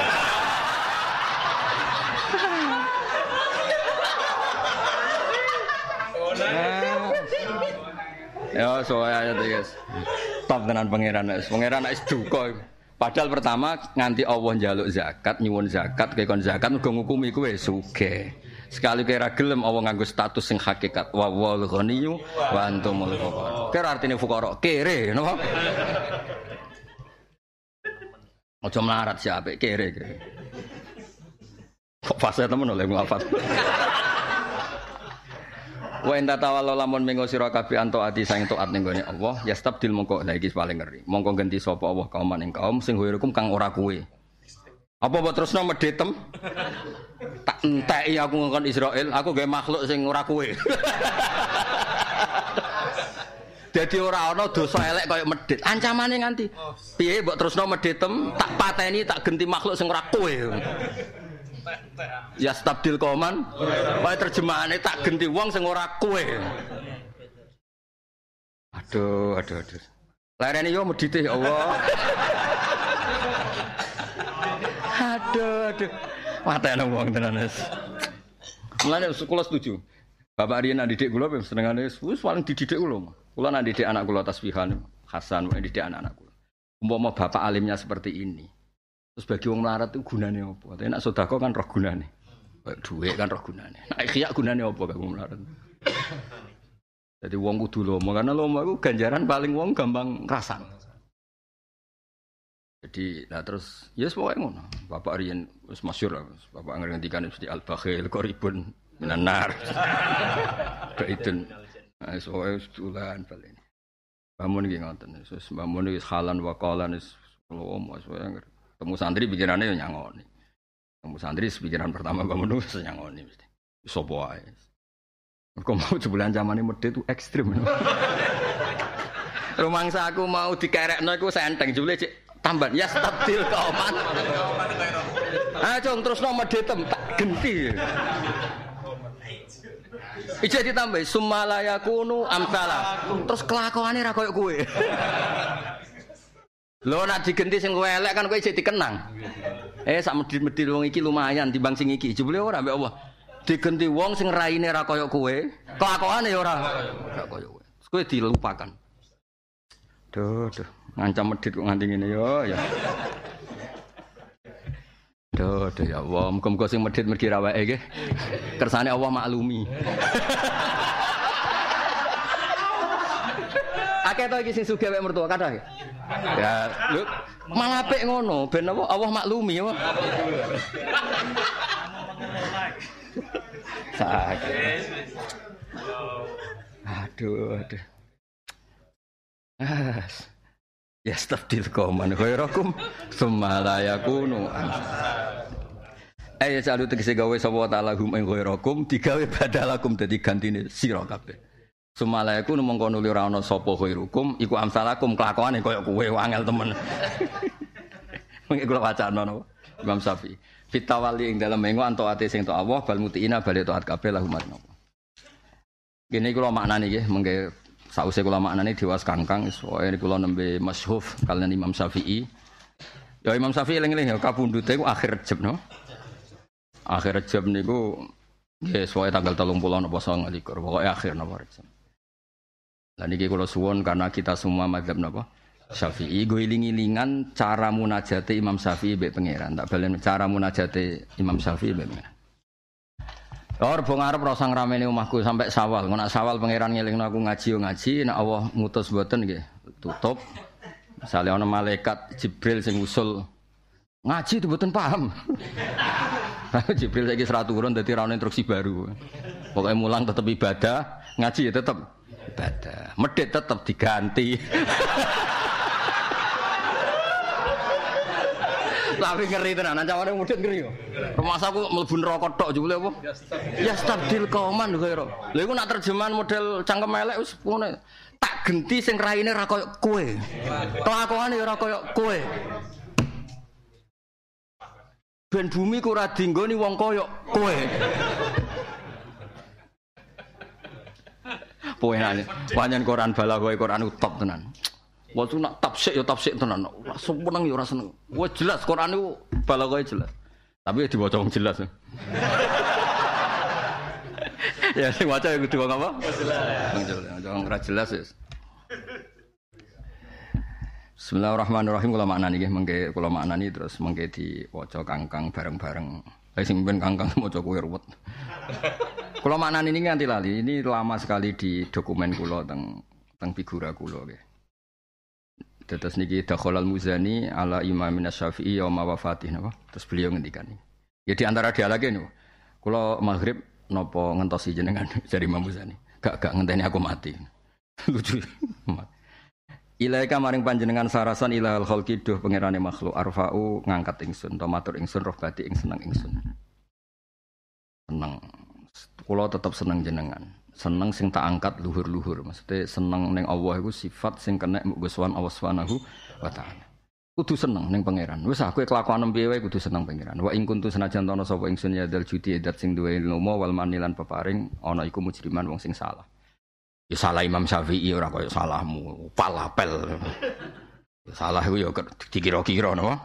Ya soalnya itu guys. Top tenan pangeran wis duka. Padahal pertama nganti Allah njaluk zakat, nyuwun zakat, kekon zakat uga ngukumi kowe sugih. Sekali kira gelem Allah nganggo status sing hakikat wa wal ghaniyyu wa antumul fuqara. Kira artine fuqara kere napa? Aja melarat si apik kere. Kok fase temen oleh ngafat. Wa enta tawallo lamun mengo sira kabeh anto ati sang taat ning gone Allah yastabdil mongko lha iki paling ngeri. Mongko ganti sapa Allah kaum ing kaum sing hukum kang ora kuwe. Apa mbok terusno medhetem? Tak enteki aku ngkon Israel, aku gawe makhluk sing ora kowe. Dadi ora ana dosa elek kaya medhit. Ancamane nganti piye mbok terusno medhetem, tak pateni, tak genti makhluk sing ora kowe. Ya stabdil koman. Wae terjemahane tak genti wong sing ora kowe. Aduh. Larene yo medhite ya Allah. Aduh. Matane wong tenan wis. Mulane kula setuju. Bapak Riyen nak didik kula senengane wis paling dididik kula. Kula nak didik anak kula tasbihan Hasan, didik anak-anak kula. Umpama bapak alimnya seperti ini. Terus bagi wong melarat itu gunane apa? Tapi nak sedekah kan roh gunane. Duit kan roh gunane. Nak khiyak gunane apa kanggo wong melarat? Jadi wong kudu lomo karena lomo iku ganjaran paling wong gampang ngrasakno. Jadi lah terus ya yes, pokoke ngono. Bapak Riyen wis masyhur lah. Bapak ngendikane mesti al-bakhil qaribun minan nar. Kaiten. Wis pokoke sedulan balen. Bangun iki ngoten. Wis bangun iki halan wa qalan wis lomo wis pokoke temu santri pikirane yo nyangoni. Temu santri pikiran pertama bangun wis nyangoni mesti. Sopo wae. Kok mau sebulan zamane medhe itu ekstrem. Rumangsa aku mau dikerekno iku senteng jebule cek tamban ya stabil kauman. Cung terusno medhetem tak genti. Ije ditambahi sumalayakunu amsala. Terus kelakuane ra koyo kowe. Lho nek digenti sing kowe elek kan kowe isih dikenang. Sak medhit-medhit wong iki lumayan timbang sing iki. Jebule ora mbek Allah. Digenti wong sing raine ra koyo kowe, kelakuane ya ora koyo kowe. Kowe dilupakan. Duh, ngancam medhit kok nganti ngene yo ya. Duh ya Allah, muga-muga sing medhit mergi ra wae nggih. Kersane Allah maklumi. Akeh to iki sing sugih wek mertua kathah. Ya, lho malah apik ngono, ben apa Allah maklumi ya. Sakit. Aduh. Ya stabdil kauman khairakum summa la yakunu. Ya salu tegese gawe sapa taala hum ing khairakum digawe badalakum dadi gantine sira kabeh. Summa la yakunu mongko nuli ora ana sapa khairukum iku amsalakum kelakuane kaya kowe angel temen. Mengko kula wacana napa Imam Syafi'i. Fitawali ing dalem mengo anto ate sing to Allah bal mutiina bali taat kabeh lahum napa. Gene kula maknane nggih mengke sause kula maknane dewas kangkang soe kula nembe masyhuf kalian Imam Syafi'i. Ya Imam Syafi'i eling-eling ya kapundhute ku akhir Rejab no. Akhir Rejab niku nggih soe tanggal 30 napa 29 pokoke akhir napa Rejab. Lah niki kula suwun karena kita semua mazhab napa Syafi'i go iling-ilingan cara munajate Imam Syafi'i mbek pangeran. Tak balen cara munajate Imam Syafi'i mbek pangeran. Or bong arep rasa ngrameni omahku sampai Sawal. Ngono Sawal pangeran ngelingno aku ngaji yo ngaji, nek Allah ngutus mboten nggih tutup. Misalnya ana malaikat Jibril sing usul ngaji itu mboten paham. Jibril saiki ora turun dadi ra ono instruksi baru. Pokoknya mulang tetap ibadah, ngaji ya tetap ibadah. Medhit tetap diganti. Tapi ngeri tenan, ancaman medhit ngeri yo. Rumasaku mlebu neraka tok jebule apa? Ya stabdil kauman kaya. Lha iku nak terjemahan model cangkem elek wis ngono. Tak genti sing raine ra koyo kowe. Kelakuane ora koyo kowe. Ben bumi ku ora dinggoni wong koyo kowe. Poenane, panjen Quran bala kowe Quran top tenan. Waktu nak tafsir ya tafsir tenan. Ora seneng ya ora seneng. Wah jelas Quran niku bala kowe jelas. Tapi ya diwaca wong jelas. Ya sing waca ya kudu wong apa? Jelas. Wong ora jelas ya. Bismillahirrahmanirrahim. Kula maknani nggih mengke kula maknani terus mengke diwaca kangkang bareng-bareng. Sing ben kangkang maca kowe ruwet. Kula maknani ini nganti lali. Ini lama sekali di dokumen kula teng figura kula nggih. Terus niki Dakhalal Muzani ala Imam Asy-Syafi'i yauma wafatih napa. Terus beliau ngendikan iki. Ya di antara dialage niku. Kula maghrib napa ngentosi jenengan dari Imam Muzani. Gak ngenteni aku mati. Lucu. Ilaika maring panjenengan sarasan ilahal khalqi duh pangerane makhluk arfa'u ngangkat ingsun to matur ingsun roh bati ing seneng ingsun. Seneng. Kula tetep seneng jenengan. Seneng sing tak angkat luhur-luhur. Maksudnya seneng ning Allah iku sifat sing kena Gusti Allah Subhanahu wa taala. Kudu seneng ning pangeran. Wis aku kelakuan piye wae kudu seneng pangeran. Wa ing kuntu senajan ana sapa ingsun ya dal judi edat sing duwe ilmu wal manilan peparing ana iku mujriman wong sing salah. Ya salah Imam Syafi'i ora kaya salahmu, palapel. Salah iku ya dikira-kira napa.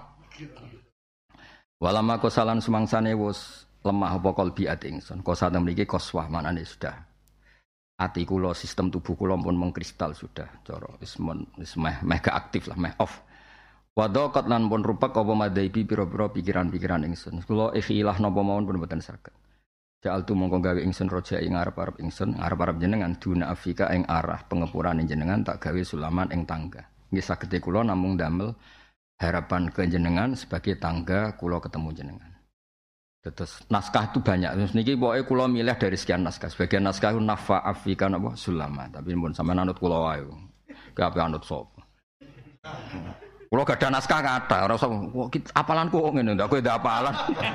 Walama kosalan sumangsane wis lemah apa kalbi ati ingsun. Kosa mriki koswah manane sudah. Ati kula sistem tubuh kula pun mengkristal sudah cara wis meh gak aktif lah, meh off. Wadaqat lan pun rupak apa madaibi pira-pira pikiran-pikiran ingsun. Kula ikhilah napa mawon pun mboten saged. Ja'altu mongko gawe ingsun roja ing arep-arep ingsun, arep-arep jenengan duna afika ing arah pengepurane jenengan tak gawe sulaman ing tangga. Nggih sagede kula namung damel harapan ke jenengan sebagai tangga kula ketemu jenengan. Terus naskah itu banyak. Terus niki pokoke kula milih dari sekian naskah. Sebagian naskah nafa afika napa sulaman, tapi pun sampean anut kula wae. Kabeh anut sapa. Kula gadah naskah kathah, ora usah apalanku kok ngene ndak kowe ndak apalan.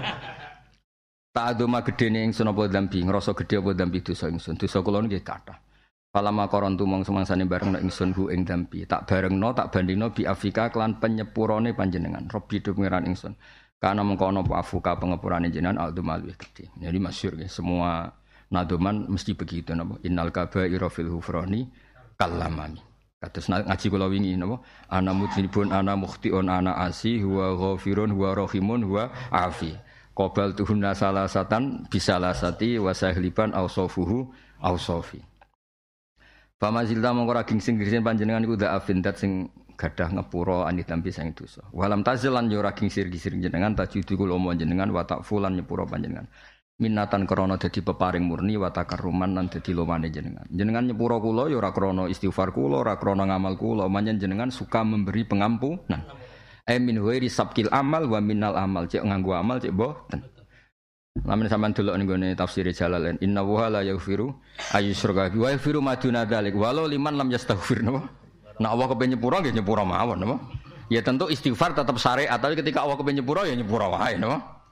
Tak adoma gedene ingsun apa dambi, ngrasa gedhe apa dambi dosa ingsun. Dosa kula nggih kathah. Palama korontu mong semangsane bareng ingsun hu ing dambi. Tak barengno, tak bandingno bi afika kelan penyepurane panjenengan. Robbi do pengiran ingsun. Karena mengko ana apa afuka pengepurane jenengan aldumal luwih gedhe. Jadi masyhur nggih, semua nadoman mesti begitu napa. Innal kaba'ira fil hufrani kallamani. Kados ngaji kula wingi napa. Ana mudzinibun ana mukhtiun ana asi huwa ghafirun huwa rahimun huwa afi. Qobal tuhunna salasatan bisalasati wasahliban ausofuhu ausofi. Pamazilta mongko raging sing grisen panjenengan iku da'afin dat sing gadah ngepura anitampi sing dosa. Walam tazilan yo raging sir-sir jenengan tajudu kula omong jenengan wa takfulan nyepura panjenengan. Minatan krana dadi peparing murni wa takarruman lan dadi lomane jenengan. Jenengan nyepura kula yo ora krana istighfar kula, ora krana ngamal kula, manjen jenengan suka memberi pengampunan. Min huwairi sabkil amal wa minal amal cek nganggo amal cek boten. Lamun sampean delok ning gone tafsir Jalalain inna wa la yaghfiru ayyusyraka wa yaghfiru ma duna dzalik walau liman lam yastaghfir napa. Nek Allah kepen nyepura nggih nyepura mawon napa. Ya tentu istighfar tetap syariat tapi ketika Allah kepen nyepura ya nyepura wae napa.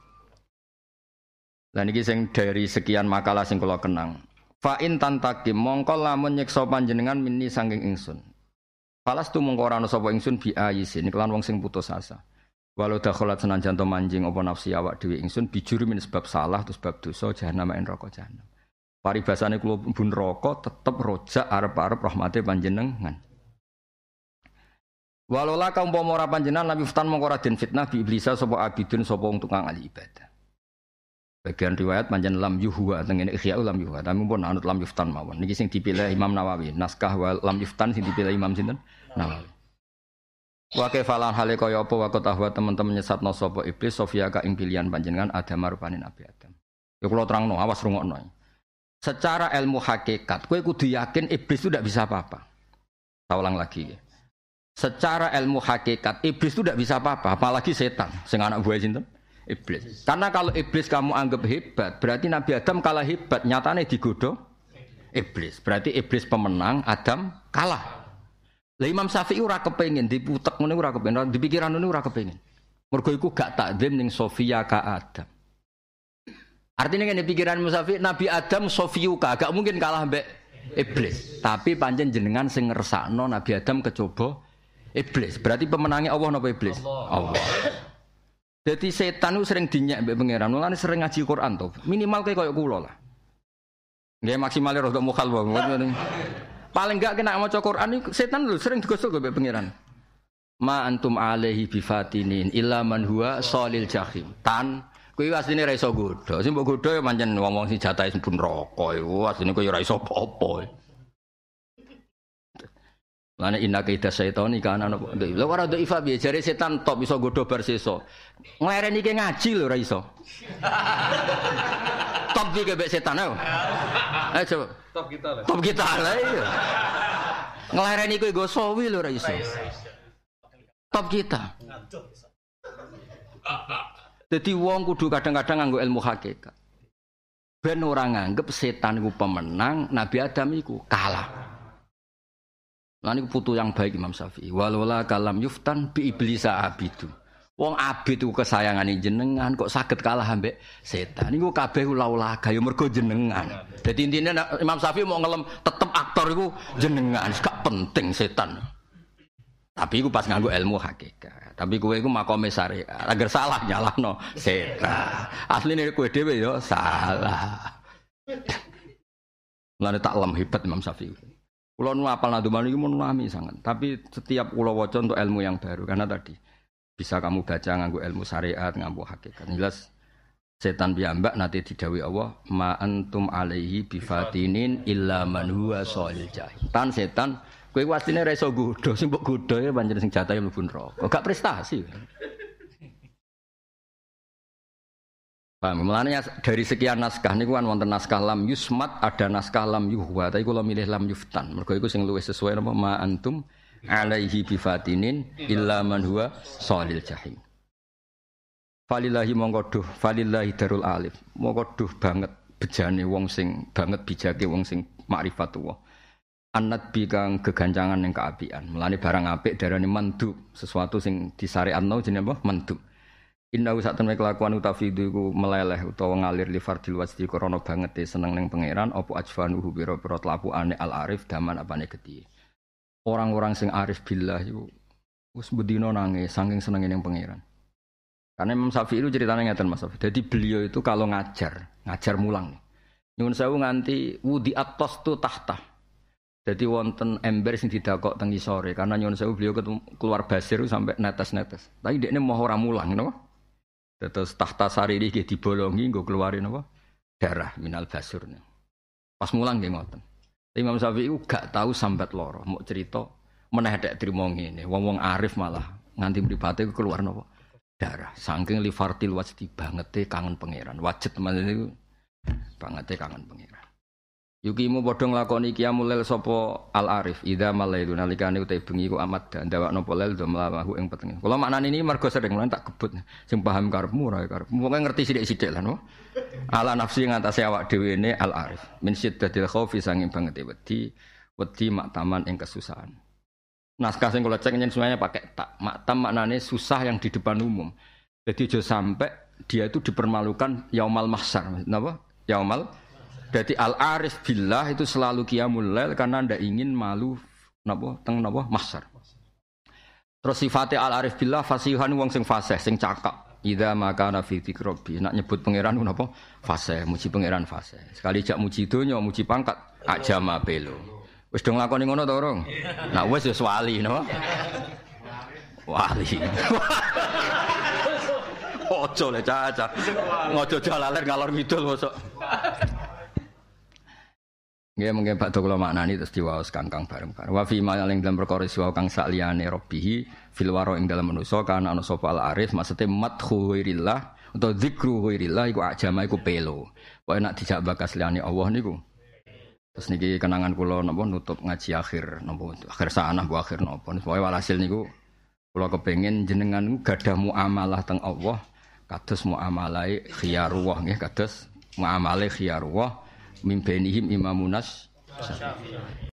Lah niki sing dari sekian makalah sing kula kenang. Fa in tantakim mongko lamun nyiksa panjenengan minni saking ingsun. Falas tu mongko ora ana sapa ingsun bi ayisin kelan wong sing putus asa. Walau dakhalat senajan to manjing apa nafsi awak dhewe ingsun bijuri min sebab salah terus sebab dosa jahanam en neraka jahanam. Paribasane kula mlebu neraka tetep rojak arep-arep rahmate panjenengan. Walau la kaum umpama ora panjenengan lam yuftan mongko ora den fitnah bi iblisa sapa abidun sapa wong tukang ahli ibadah. Bagian riwayat panjen lam yuhwa tengene Ihya'ul lam yuhwa tapi pun anut lam yuftan mawon. Niki sing dipilih Imam Nawawi. Naskah wa lam yuftan sing dipilih Imam sinten? Nawawi. Wa kafalan hale kaya apa wa tahwa teman-teman nyesatno sapa iblis Sofia ka ing pilihan panjenengan Adam rupane Nabi Adam. Ya kula terangno, awas rungokno. Secara ilmu hakikat kowe kudu yakin iblis itu ndak bisa apa-apa. Saya ulang lagi ya. Secara ilmu hakikat iblis itu tidak bisa apa-apa, apalagi setan, sing anak buah sinten? Iblis. Karena kalau iblis kamu anggap hebat, berarti Nabi Adam kalah hebat, nyatane digoda iblis. Berarti iblis pemenang, Adam kalah. Lah Imam Syafi'i ora kepengin diputek ngene ora kepengin, di pikiran ngene ora kepengin. Mergo iku gak takdim ning Sofia ka Adam. Artinya kan di pikiran Imam Syafi'i Nabi Adam Sofiuka gak mungkin kalah mbek iblis. Tapi pancen jenengan sing ngersakno Nabi Adam kecoba iblis. Berarti pemenangnya Allah napa iblis? Allah. Jadi setan itu sering dinyek mbek pangeran. Mulane sering ngaji Quran to. Minimal kayak kula lah. Nggih maksimale rada mukhal wae. Paling enggak kena maca Quran setan lho sering digosok mbek pangeran. Ma antum alaihi bifatinin illa man huwa shalil jahim. Tan kuwi asline ra iso godho. Sing mbok godho ya pancen wong-wong sing jatahe pun neraka iku asline koyo ora iso apa-apa. Lane inna kaida syaitani kana napa. Lha ora ndek ifa piye jare setan top iso godho bar sesa. Nglereni ki ngaji lho ora iso. Top iki mbek setan ayo. Ayo coba. Top kita lah. Top kita lah iya. Nglereni kuwi go sawi lho ora iso. Top kita. Dadi wong kudu kadang-kadang nganggo ilmu hakikat. Ben ora nganggep setan iku pemenang, Nabi Adam iku kalah. Lah niku putu yang baik Imam Syafi'i. Walola kalam yuftan bi iblisa abidu. Wong abid iku kesayangane jenengan kok saged kalah ambek setan. Niku kabeh laulaga ya mergo jenengan. Dadi intine Imam Syafi'i mau ngelem tetep aktor iku jenengan, gak penting setan. Tapi iku pas nganggo ilmu hakikat. Tapi kowe iku makome syariat. Agar salah nyalahno setan. Asline kowe dhewe ya salah. Lan tak lem hebat Imam Syafi'i. Kulo nu apal naduman iki mun nami sangat. Tapi setiap kulo waca untuk ilmu yang baru karena tadi bisa kamu baca nganggo ilmu syariat, nganggo hakikat. Jelas setan piyambak nate didhawuhi Allah, "Ma antum alaihi bifatinin illa man huwa shalil jahim." Tan setan kowe wasine ra iso godho, sing mbok godho ya pancen sing jatahe mlebu neraka. Gak prestasi. Paham, mulanya dari sekian naskah niku kan wonten naskah lam yusmat, ada naskah lam yuhwa, tapi kula milih lam yuftan. Mergo iku sing luwih sesuai napa ma antum alaihi bifatinin illa man huwa shalil jahim. Falillahi mongko duh, falillahi darul alif. Mongko duh banget bejane wong sing banget bijake wong sing ma'rifatullah. Annat bi kang gegancangan ning kaapian. Mulane barang apik darane mandub, sesuatu sing disyariatno jenenge apa? Mandub. Inna sak temne kelakuan utafidu iku meleleh utawa ngalir li fardil wajdi krana banget seneng ning pangeran apa ajfanuhu biro-biro tlapukane al arif daman apane gedhi. Orang-orang sing arif billah iku wis bedino nangis saking senenge ning pangeran. Karena Imam Syafi'i itu ceritanya ngeten Mas Syafi'i. Jadi beliau itu kalau ngajar mulang. Nyuwun sewu nganti wudi atos tu tahta. Jadi wonten ember sing didakok teng isore karena nyuwun sewu beliau keluar basir sampai netes-netes. Tapi dekne mau ora mulang napa? Terus tahta sariri nggih dibolongi nggo keluarin apa? Darah minal basur. Pas mulang nggih ngoten. Imam Syafi'i gak tahu sambat loro, mau cerita meneh tek trimo ngene. Wong-wong arif malah nganti mripate keluar napa? Darah. Saking li fartil wajdi bangete kangen pangeran. Wajib teman niku bangete kangen pangeran. Yukimu padha nglakoni qiyamul lail sapa al arif idza malailu nalikane uta bengi ku amat ndawakno polel do mlawahu ing petenge. Kula maknane ini mergo sering lan tak gebut sing paham karepmu ora karepmu. Pokoke ngerti sithik-sithik lan. Ala nafsi ngatasi awak dhewe ne al arif min syiddatil khaufi sanging bangete wedi maktaman ing kesusahan. Naskah sing kula cek nyen semuanya pakai tak. Maktam maknane susah yang di depan umum. Jadi aja sampai dia itu dipermalukan yaumal mahsyar. Napa? Yaumal. Jadi al-arif billah itu selalu qiyamul lail karena ndak ingin malu napa teng napa mahsyar. Terus sifatnya al-arif billah fasihan wong sing fasih, sing cakap. Idza makana fi dzikri nak nyebut pangeran ku napa? Fasih, muji pangeran fasih. Sekali jak muji donya, muji pangkat, ajama pelo. Wis do nglakoni ngono to, Rong? Nah wis wis wali napa? Wali. Ojo le caca. Ngojo jalaler ngalor ngidul mosok. Nggih mungkin Pak Dok kula maknani terus diwaos kangkang bareng-bareng. Wa fi ma ing dalam perkara siwa kang sakliyane Rabbih fil waro ing dalam manusa kana ana sapa al arif maksude madhu ghairillah utawa zikru ghairillah iku ajama iku pelo. Pokoke nek dijak bakas liyane Allah niku Terus niki kenangan kula napa nutup ngaji akhir napa akhir sanah bu akhir napa. Pokoke walhasil niku kula kepengin jenengan gadah muamalah teng Allah kados muamalahe khiyarullah nggih kados muamalahe khiyarullah mimbenihim imamunas